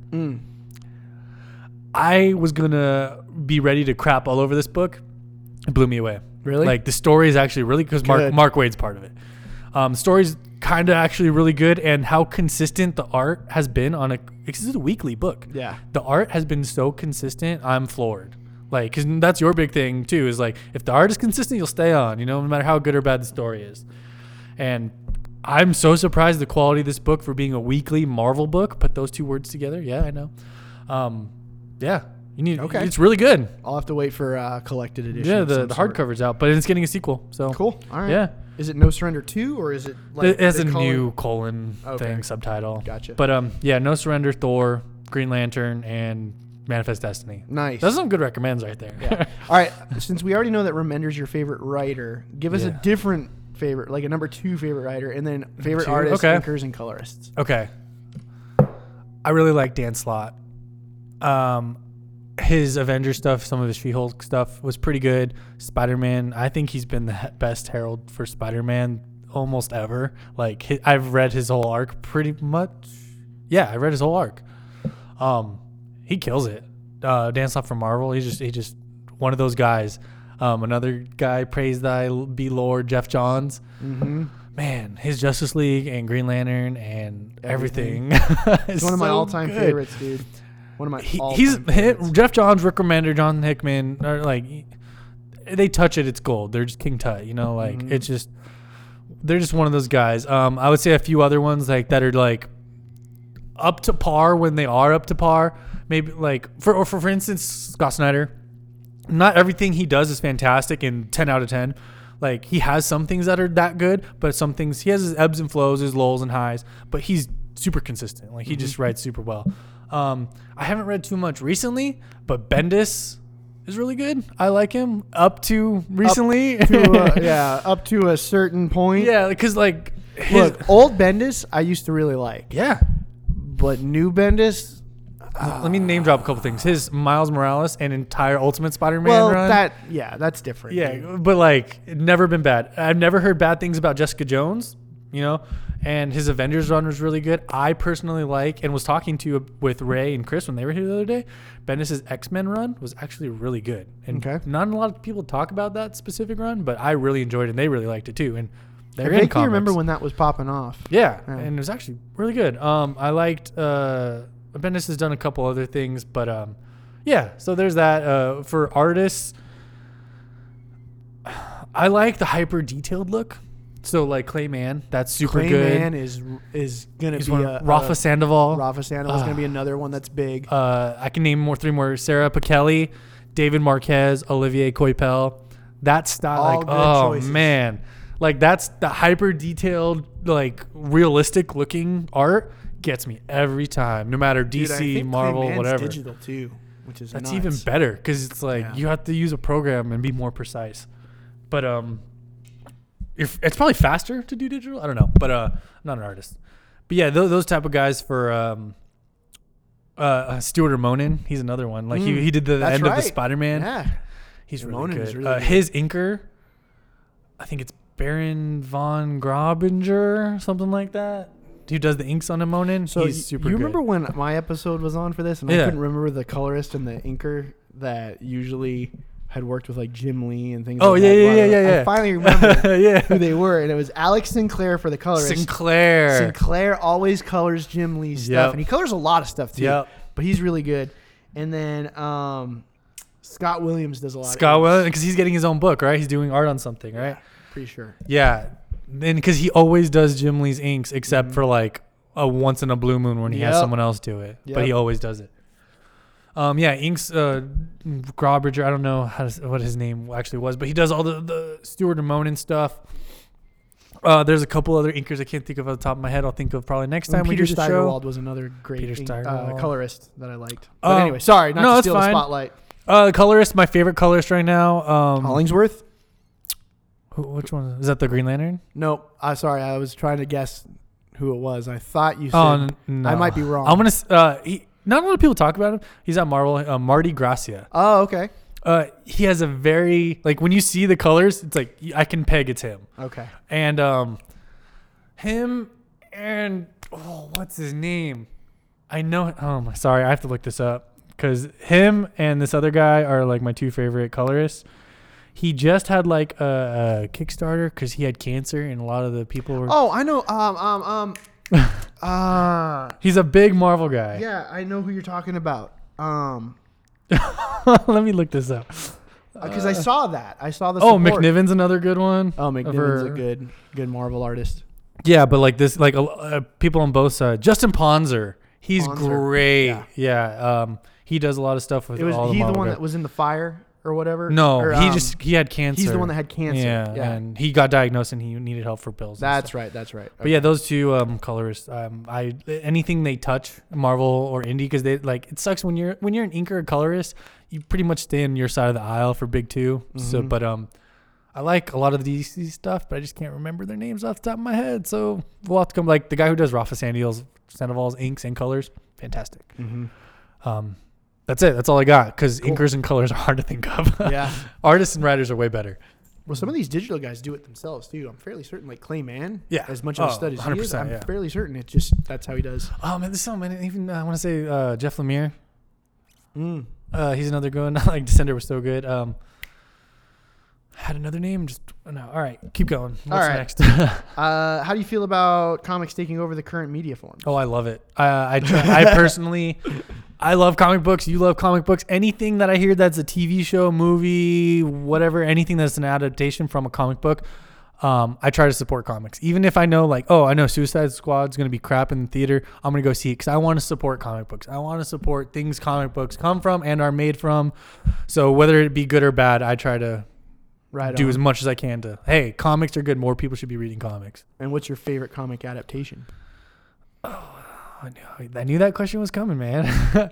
B: I was gonna be ready to crap all over this book. It blew me away.
A: Really?
B: Like the story is actually really because Mark Waid's part of it. The story's kind of actually really good, and how consistent the art has been on this is a weekly book.
A: Yeah.
B: The art has been so consistent. I'm floored. Like, because that's your big thing too. Is like if the art is consistent, you'll stay on. No matter how good or bad the story is. And I'm so surprised the quality of this book for being a weekly Marvel book. Put those 2 words together. Yeah, I know. Yeah, you need. Okay, it's really good.
A: I'll have to wait for collected edition.
B: Yeah, the hardcover's out, but it's getting a sequel. So
A: cool. All right.
B: Yeah.
A: Is it No Surrender 2 or is it like
B: it has a new colon thing subtitle?
A: Gotcha.
B: But yeah, No Surrender, Thor, Green Lantern, and Manifest Destiny.
A: Nice.
B: Those are some good recommends right there.
A: Yeah. All right. Since we already know that Remender's your favorite writer, give us a different favorite, like a number 2 favorite writer, and then favorite artists, inkers, and colorists.
B: Okay. I really like Dan Slott. His Avengers stuff, some of his She-Hulk stuff was pretty good. Spider-Man, I think he's been the best herald for Spider-Man almost ever. Like I've read his whole arc pretty much. Yeah, I read his whole arc. He kills it. Dan Slott from Marvel, he's just one of those guys. Another guy, praise thy be Lord, Jeff Johns.
A: Mm-hmm.
B: Man, his Justice League and Green Lantern and everything.
A: It's one of my all-time favorites, dude. One of my
B: favorites. Jeff Johns, Rick Remender, John Hickman are like, they touch it, it's gold. They're just King Tut, it's just, they're just one of those guys. I would say a few other ones like that are like up to par when they are up to par. Maybe like for instance, Scott Snyder. Not everything he does is fantastic and 10 out of 10. Like he has some things that are that good, but some things he has his ebbs and flows, his lulls and highs, but he's super consistent. Like he just writes super well. I haven't read too much recently, but Bendis is really good. I like him up to recently.
A: Up to a certain point.
B: Yeah, because like
A: look, old Bendis I used to really like.
B: Yeah.
A: But new Bendis,
B: let me name drop a couple things. His Miles Morales and entire Ultimate Spider-Man run.
A: That's different.
B: Yeah, dude. But like never been bad. I've never heard bad things about Jessica Jones, and his Avengers run was really good. I personally like and was talking with Ray and Chris when they were here the other day. Bendis' X-Men run was actually really good. And not a lot of people talk about that specific run, but I really enjoyed it and they really liked it too. And
A: I vaguely remember when that was popping off.
B: Yeah, and it was actually really good. I liked Bendis has done a couple other things, but so there's that. For artists, I like the hyper detailed look. So like Clayman, that's super good.
A: Clayman is gonna be
B: Rafa Sandoval.
A: Rafa Sandoval is gonna be another one that's big.
B: I can name three more: Sarah Pichelli, David Marquez, Olivier Coipel. That style, choices. Man, like that's the hyper detailed, like realistic looking art. Gets me every time, no matter DC, Marvel, whatever.
A: Digital too, which is
B: that's even better because it's like you have to use a program and be more precise. But it's probably faster to do digital. I don't know, but I'm not an artist. But yeah, those type of guys for Stuart Immonen, he's another one. Like he did the end of the Spider-Man.
A: Yeah,
B: he's really good. Is really good. His inker, I think it's Baron von Grabinger, something like that. Who does the inks on Immonen? So he's super good. You
A: remember when my episode was on for this, and I couldn't remember the colorist and the inker that usually had worked with like Jim Lee and things like that.
B: Yeah.
A: I finally remembered who they were, and it was Alex Sinclair for the colorist. Sinclair always colors Jim Lee stuff, and he colors a lot of stuff too. Yep. But he's really good. And then Scott Williams does a lot.
B: Scott Williams, because he's getting his own book, right? He's doing art on something, right?
A: Yeah, pretty sure.
B: Yeah. And because he always does Jim Lee's inks, except for like a once in a blue moon when he has someone else do it. But he always does it. Inks, Grabinger, I don't know what his name actually was, but he does all the Stuart Immonen stuff. There's a couple other inkers I can't think of off the top of my head. I'll think of probably next time we do the show.
A: Peter Steigerwald was another great colorist that I liked. But anyway, sorry, not to steal the spotlight.
B: Colorist, my favorite colorist right now.
A: Hollingsworth?
B: Which one? Is that the Green Lantern?
A: Nope. Sorry, I was trying to guess who it was. I thought you said.
B: No.
A: I might be wrong.
B: I'm gonna. Not a lot of people talk about him. He's at Marvel. Marty Gracia.
A: Oh, okay.
B: He has a very when you see the colors, it's like I can peg it's him.
A: Okay.
B: And him and what's his name? I know. Sorry, I have to look this up because him and this other guy are like my two favorite colorists. He just had like a Kickstarter because he had cancer, and a lot of the people were.
A: Oh, I know.
B: He's a big Marvel guy.
A: Yeah, I know who you're talking about.
B: Let me look this up.
A: Because I saw that. I saw the.
B: Oh, McNiven's another good one.
A: Oh, McNiven's a good Marvel artist.
B: Yeah, but like this, like people on both sides. Justin Ponzer, he's great. Yeah. He does a lot of stuff with.
A: Was
B: all
A: he
B: the
A: one that was in the fire or whatever?
B: No, he had cancer.
A: He's the one that had cancer.
B: Yeah, and he got diagnosed and he needed help for pills.
A: That's right. Okay.
B: But yeah, those two colorists, anything they touch, Marvel or indie, because they like it sucks when you're an inker or colorist, you pretty much stay on your side of the aisle for big two. Mm-hmm. So, but I like a lot of the DC stuff, but I just can't remember their names off the top of my head. So we'll have to come. Like the guy who does Rafa Sandoval's inks and colors, fantastic. Mm-hmm. That's it. That's all I got. Because
A: Cool.
B: inkers and colors are hard to think of.
A: Yeah.
B: Artists and writers are way better.
A: Well, some of these digital guys do it themselves too. I'm fairly certain, like Clay Mann.
B: Yeah.
A: As much of a stud as he is,
B: 100%,
A: I'm
B: yeah.
A: fairly certain it's just that's how he does.
B: Oh man, there's so many. Even I want to say Jeff Lemire.
A: Mm.
B: He's another good one. Like Descender was so good. Had another name. Just no. All right, keep going. What's
A: All right.
B: next?
A: How do you feel about comics taking over the current media forms?
B: Oh, I love it. I personally, I love comic books. You love comic books. Anything that I hear that's a TV show, movie, whatever, anything that's an adaptation from a comic book, I try to support comics. Even if I know, like, oh, I know Suicide Squad's going to be crap in the theater, I'm going to go see it because I want to support comic books. I want to support things comic books come from and are made from. So whether it be good or bad, I try to do as much as I can to, hey, comics are good. More people should be reading comics.
A: And what's your favorite comic adaptation?
B: I knew that question was coming, man.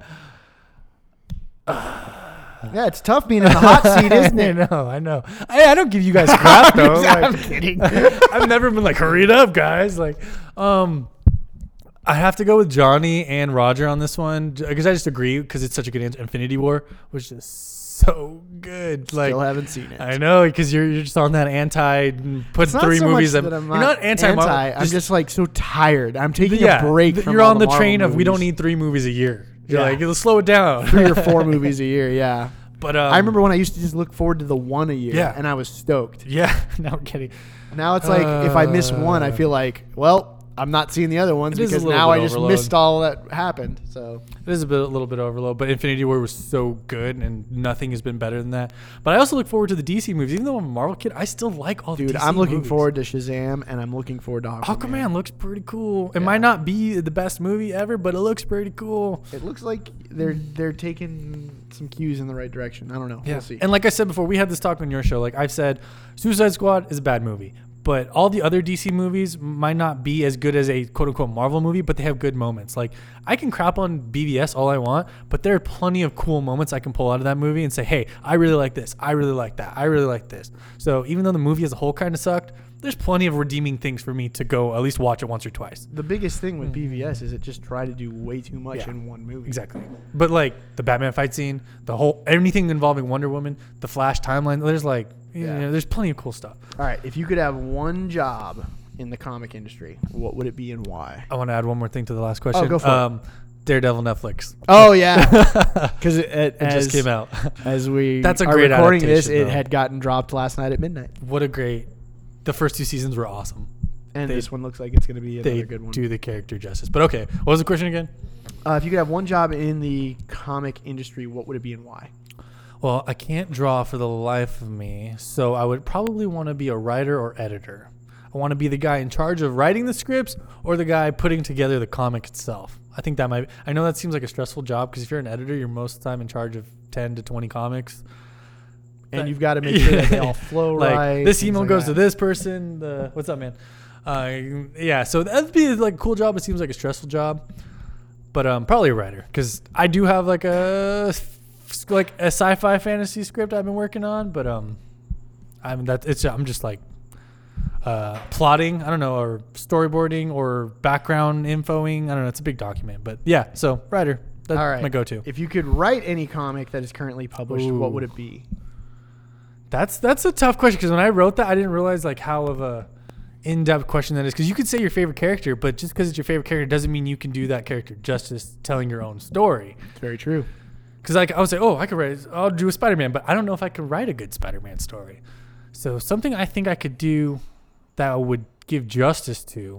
A: Yeah, it's tough being in the hot seat, isn't it?
B: I know. I don't give you guys crap though.
A: I'm
B: Like,
A: kidding.
B: I've never been like, hurry it up, guys. Like, I have to go with Johnny and Roger on this one because I just agree because it's such a good answer. Infinity War was just so good. Like,
A: Still haven't seen it.
B: I know because you're just on that anti. Put
A: It's not
B: 3
A: so
B: movies.
A: much that I'm
B: You're not anti.
A: I'm just like so tired. I'm taking a break. From
B: You're
A: all
B: on the
A: Marvel
B: train of we don't
A: movies.
B: need 3 movies a year. You're
A: Yeah.
B: like, let's slow it down.
A: 3 or 4 movies a year. Yeah.
B: But
A: I remember when I used to just look forward to the one a year.
B: Yeah.
A: And I was stoked.
B: Yeah. Now we're kidding.
A: Now it's like if I miss one, I feel like, well, I'm not seeing the other ones
B: It is a
A: because
B: little
A: now
B: bit
A: I just
B: overload.
A: missed all that happened. So
B: It is a little bit overload, but Infinity War was so good, and nothing has been better than that. But I also look forward to the DC movies. Even though I'm a Marvel kid, I still like all the
A: dude,
B: DC
A: I'm looking
B: movies.
A: forward to Shazam and I'm looking forward to Aquaman.
B: Aquaman looks pretty cool. It
A: Yeah.
B: might not be the best movie ever, but it looks pretty cool.
A: It looks like they're taking some cues in the right direction. I don't know.
B: Yeah.
A: We'll see.
B: And like I said before, we had this talk on your show. Like I've said, Suicide Squad is a bad movie. But all the other DC movies might not be as good as a quote-unquote Marvel movie, but they have good moments. Like, I can crap on BVS all I want, but there are plenty of cool moments I can pull out of that movie and say, hey, I really like this. I really like that. I really like this. So even though the movie as a whole kind of sucked, there's plenty of redeeming things for me to go at least watch it once or twice.
A: The biggest thing with BVS is it just tried to do way too much
B: Yeah.
A: in one movie.
B: Exactly. But, like, the Batman fight scene, anything involving Wonder Woman, the Flash timeline, there's, like, you know, there's plenty of cool stuff.
A: All right, if you could have one job in the comic industry, what would it be and why?
B: I want to add one more thing to the last question.
A: go for it.
B: Daredevil Netflix.
A: Oh yeah, because
B: It just came out.
A: as we
B: That's a
A: are
B: great
A: recording this.
B: adaptation,
A: It
B: though.
A: had gotten dropped last night at midnight,
B: The first 2 seasons were awesome.
A: and
B: They-
A: this one looks like it's going to be
B: They
A: another good one.
B: do the character justice. But okay, what was the question again?
A: If you could have one job in the comic industry, what would it be and why?
B: Well, I can't draw for the life of me, so I would probably want to be a writer or editor. I want to be the guy in charge of writing the scripts or the guy putting together the comic itself. I think that might. I know that seems like a stressful job because if you're an editor, you're most of the time in charge of 10 to 20 comics.
A: And you've got to make sure that they all flow
B: Like
A: right.
B: this
A: things
B: email
A: like
B: goes
A: that.
B: to this person. What's up, man? Yeah, so that'd be like a cool job. It seems like a stressful job, but probably a writer because I do have like a sci-fi fantasy script I've been working on, but I mean I'm just like plotting. I don't know, or storyboarding or background infoing. I don't know. It's a big document, but yeah. So writer, that's
A: All right.
B: my go-to.
A: If you could write any comic that is currently published, what would it be?
B: That's a tough question because when I wrote that, I didn't realize like how of a in-depth question that is. Because you could say your favorite character, but just because it's your favorite character doesn't mean you can do that character justice telling your own story.
A: It's very true.
B: Because like I would say, oh, I'll do a Spider-Man, but I don't know if I could write a good Spider-Man story. So something I think I could do that would give justice to.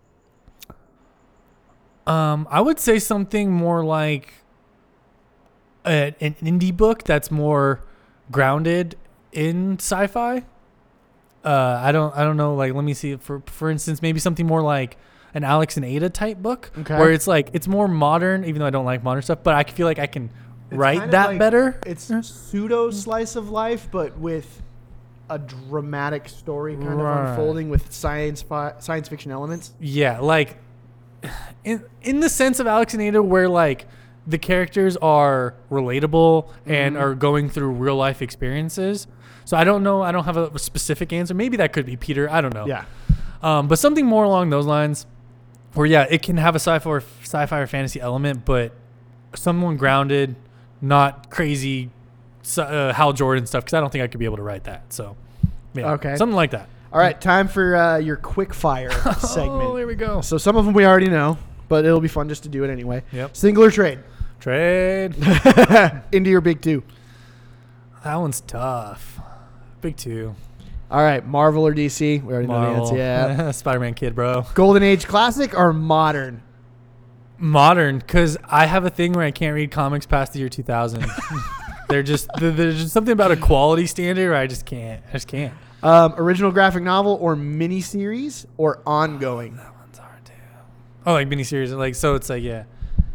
B: I would say something more like an indie book that's more grounded in sci-fi. I don't know. Like, let me see. For instance, maybe something more like an Alex and Ada type book,
A: Okay.
B: where it's like it's more modern. Even though I don't like modern stuff, but I feel like I can
A: It's
B: write
A: kind of
B: that
A: like-
B: better.
A: It's pseudo slice of life, but with a dramatic story kind of
B: Right.
A: unfolding with science fiction elements.
B: Yeah, like in the sense of Alex and Ada, where like the characters are relatable and are going through real life experiences. So I don't know. I don't have a specific answer. Maybe that could be Peter. I don't know.
A: Yeah.
B: But something more along those lines, where yeah, it can have a sci-fi or fantasy element, but someone grounded, not crazy Hal Jordan stuff, because I don't think I could be able to write that. So, yeah,
A: Okay.
B: something like that.
A: All right, time for your quick fire segment.
B: Oh, here we go.
A: So some of them we already know, but it'll be fun just to do it anyway.
B: Yep.
A: Single or trade?
B: Trade.
A: Indie or big two?
B: That one's tough. Big two.
A: All right, Marvel or DC? We already know
B: Marvel.
A: the answer. Yeah.
B: Spider-Man kid, bro.
A: Golden Age classic or modern?
B: Modern, because I have a thing where I can't read comics past the year 2000. There's just something about a quality standard where I just can't.
A: Original graphic novel or miniseries or ongoing?
B: That one's hard too. Oh, like miniseries, like so it's like yeah.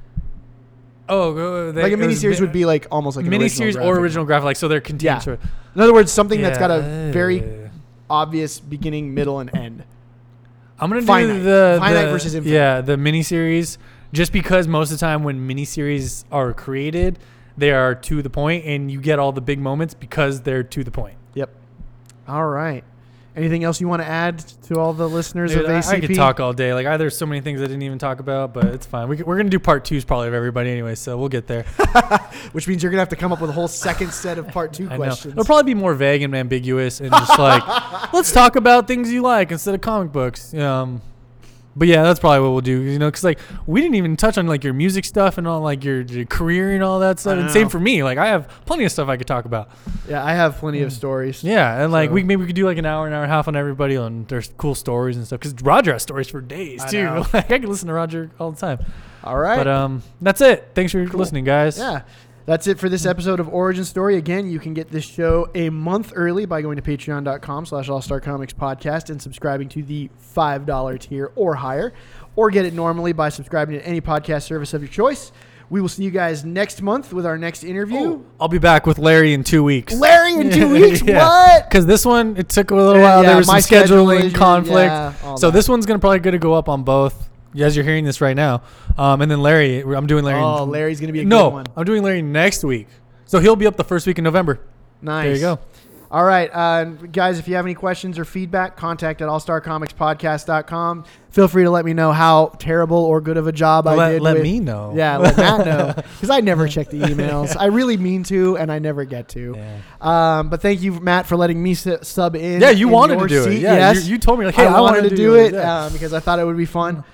B: Oh,
A: Like a miniseries would be like almost like an
B: miniseries or original graphic, like so they're continuous.
A: Yeah. In other words, something that's got a
B: Yeah.
A: very obvious beginning, middle, and end.
B: I'm gonna
A: Finite.
B: do the
A: Finite versus infinite.
B: Yeah, the miniseries. Just because most of the time when miniseries are created, they are to the point, and you get all the big moments because they're to the point.
A: Yep. All right. Anything else you want to add to all the listeners
B: Dude,
A: of ACP?
B: I could talk all day. Like, there's so many things I didn't even talk about, but it's fine. We're going to do part twos probably of everybody anyway, so we'll get there.
A: Which means you're going to have to come up with a whole second set of part two
B: I know.
A: questions.
B: It'll probably be more vague and ambiguous and just like, let's talk about things you like instead of comic books. But yeah, that's probably what we'll do. You know, because like we didn't even touch on like your music stuff and all like your career and all that stuff. And same for me. Like I have plenty of stuff I could talk about.
A: Yeah, I have plenty of stories.
B: Yeah, and like
A: So-
B: maybe we could do like an hour and a half on everybody on their cool stories and stuff. Because Roger has stories for days
A: I
B: too.
A: know.
B: Like I can listen to Roger all the time.
A: All right.
B: But that's it. Thanks for listening, guys.
A: Yeah. That's it for this episode of Origin Story. Again, you can get this show a month early by going to patreon.com/allstarcomicspodcast and subscribing to the $5 tier or higher, or get it normally by subscribing to any podcast service of your choice. We will see you guys next month with our next interview.
B: I'll be back with Larry in 2 weeks.
A: Larry in 2 weeks?
B: Yeah.
A: What?
B: Because this one, it took a little while.
A: Yeah,
B: There was some
A: my schedule
B: scheduling
A: is-
B: conflict.
A: yeah, all
B: So
A: that.
B: this one's probably going to go up on both, as you're hearing this right now. And then Larry, I'm doing Larry.
A: Oh, Larry's going to be a good
B: No,
A: one.
B: I'm doing Larry next week. So he'll be up the first week in November.
A: Nice.
B: There you go.
A: All right, guys, if you have any questions or feedback, contact at allstarcomicspodcast.com. Feel free to let me know how terrible or good of a job I did.
B: Let
A: with-
B: me know.
A: Yeah, let Matt know. Because I never check the emails. I really mean to, and I never get to.
B: Yeah.
A: But thank you, Matt, for letting me sub in.
B: Yeah, you
A: in
B: wanted
A: your
B: to do it.
A: seat.
B: Yeah,
A: yes.
B: you told me, like, hey,
A: I wanted to do it
B: Yeah.
A: because I thought it would be fun.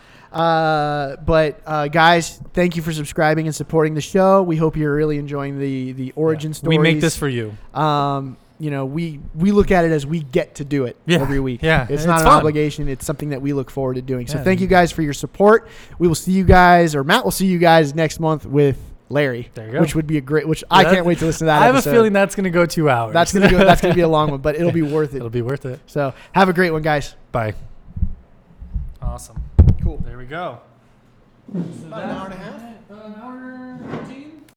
A: But guys, thank you for subscribing and supporting the show. We hope you're really enjoying the origin stories.
B: We make this for you.
A: You know, we look at it as we get to do it every week.
B: Yeah,
A: It's
B: it's
A: not an
B: fun.
A: obligation. It's something that we look forward to doing. So
B: Yeah.
A: thank you guys for your support. We will see you guys, or Matt will see you guys next month with Larry,
B: There you go.
A: which would be a great, I can't wait to listen to that
B: I have
A: episode.
B: a feeling that's going to go 2 hours.
A: that's going to be a long one, but it'll be worth it.
B: It'll be worth it.
A: So have a great one, guys.
B: Bye. Awesome.
A: Cool.
B: There we go.
A: About an hour and a half.
B: An hour 15.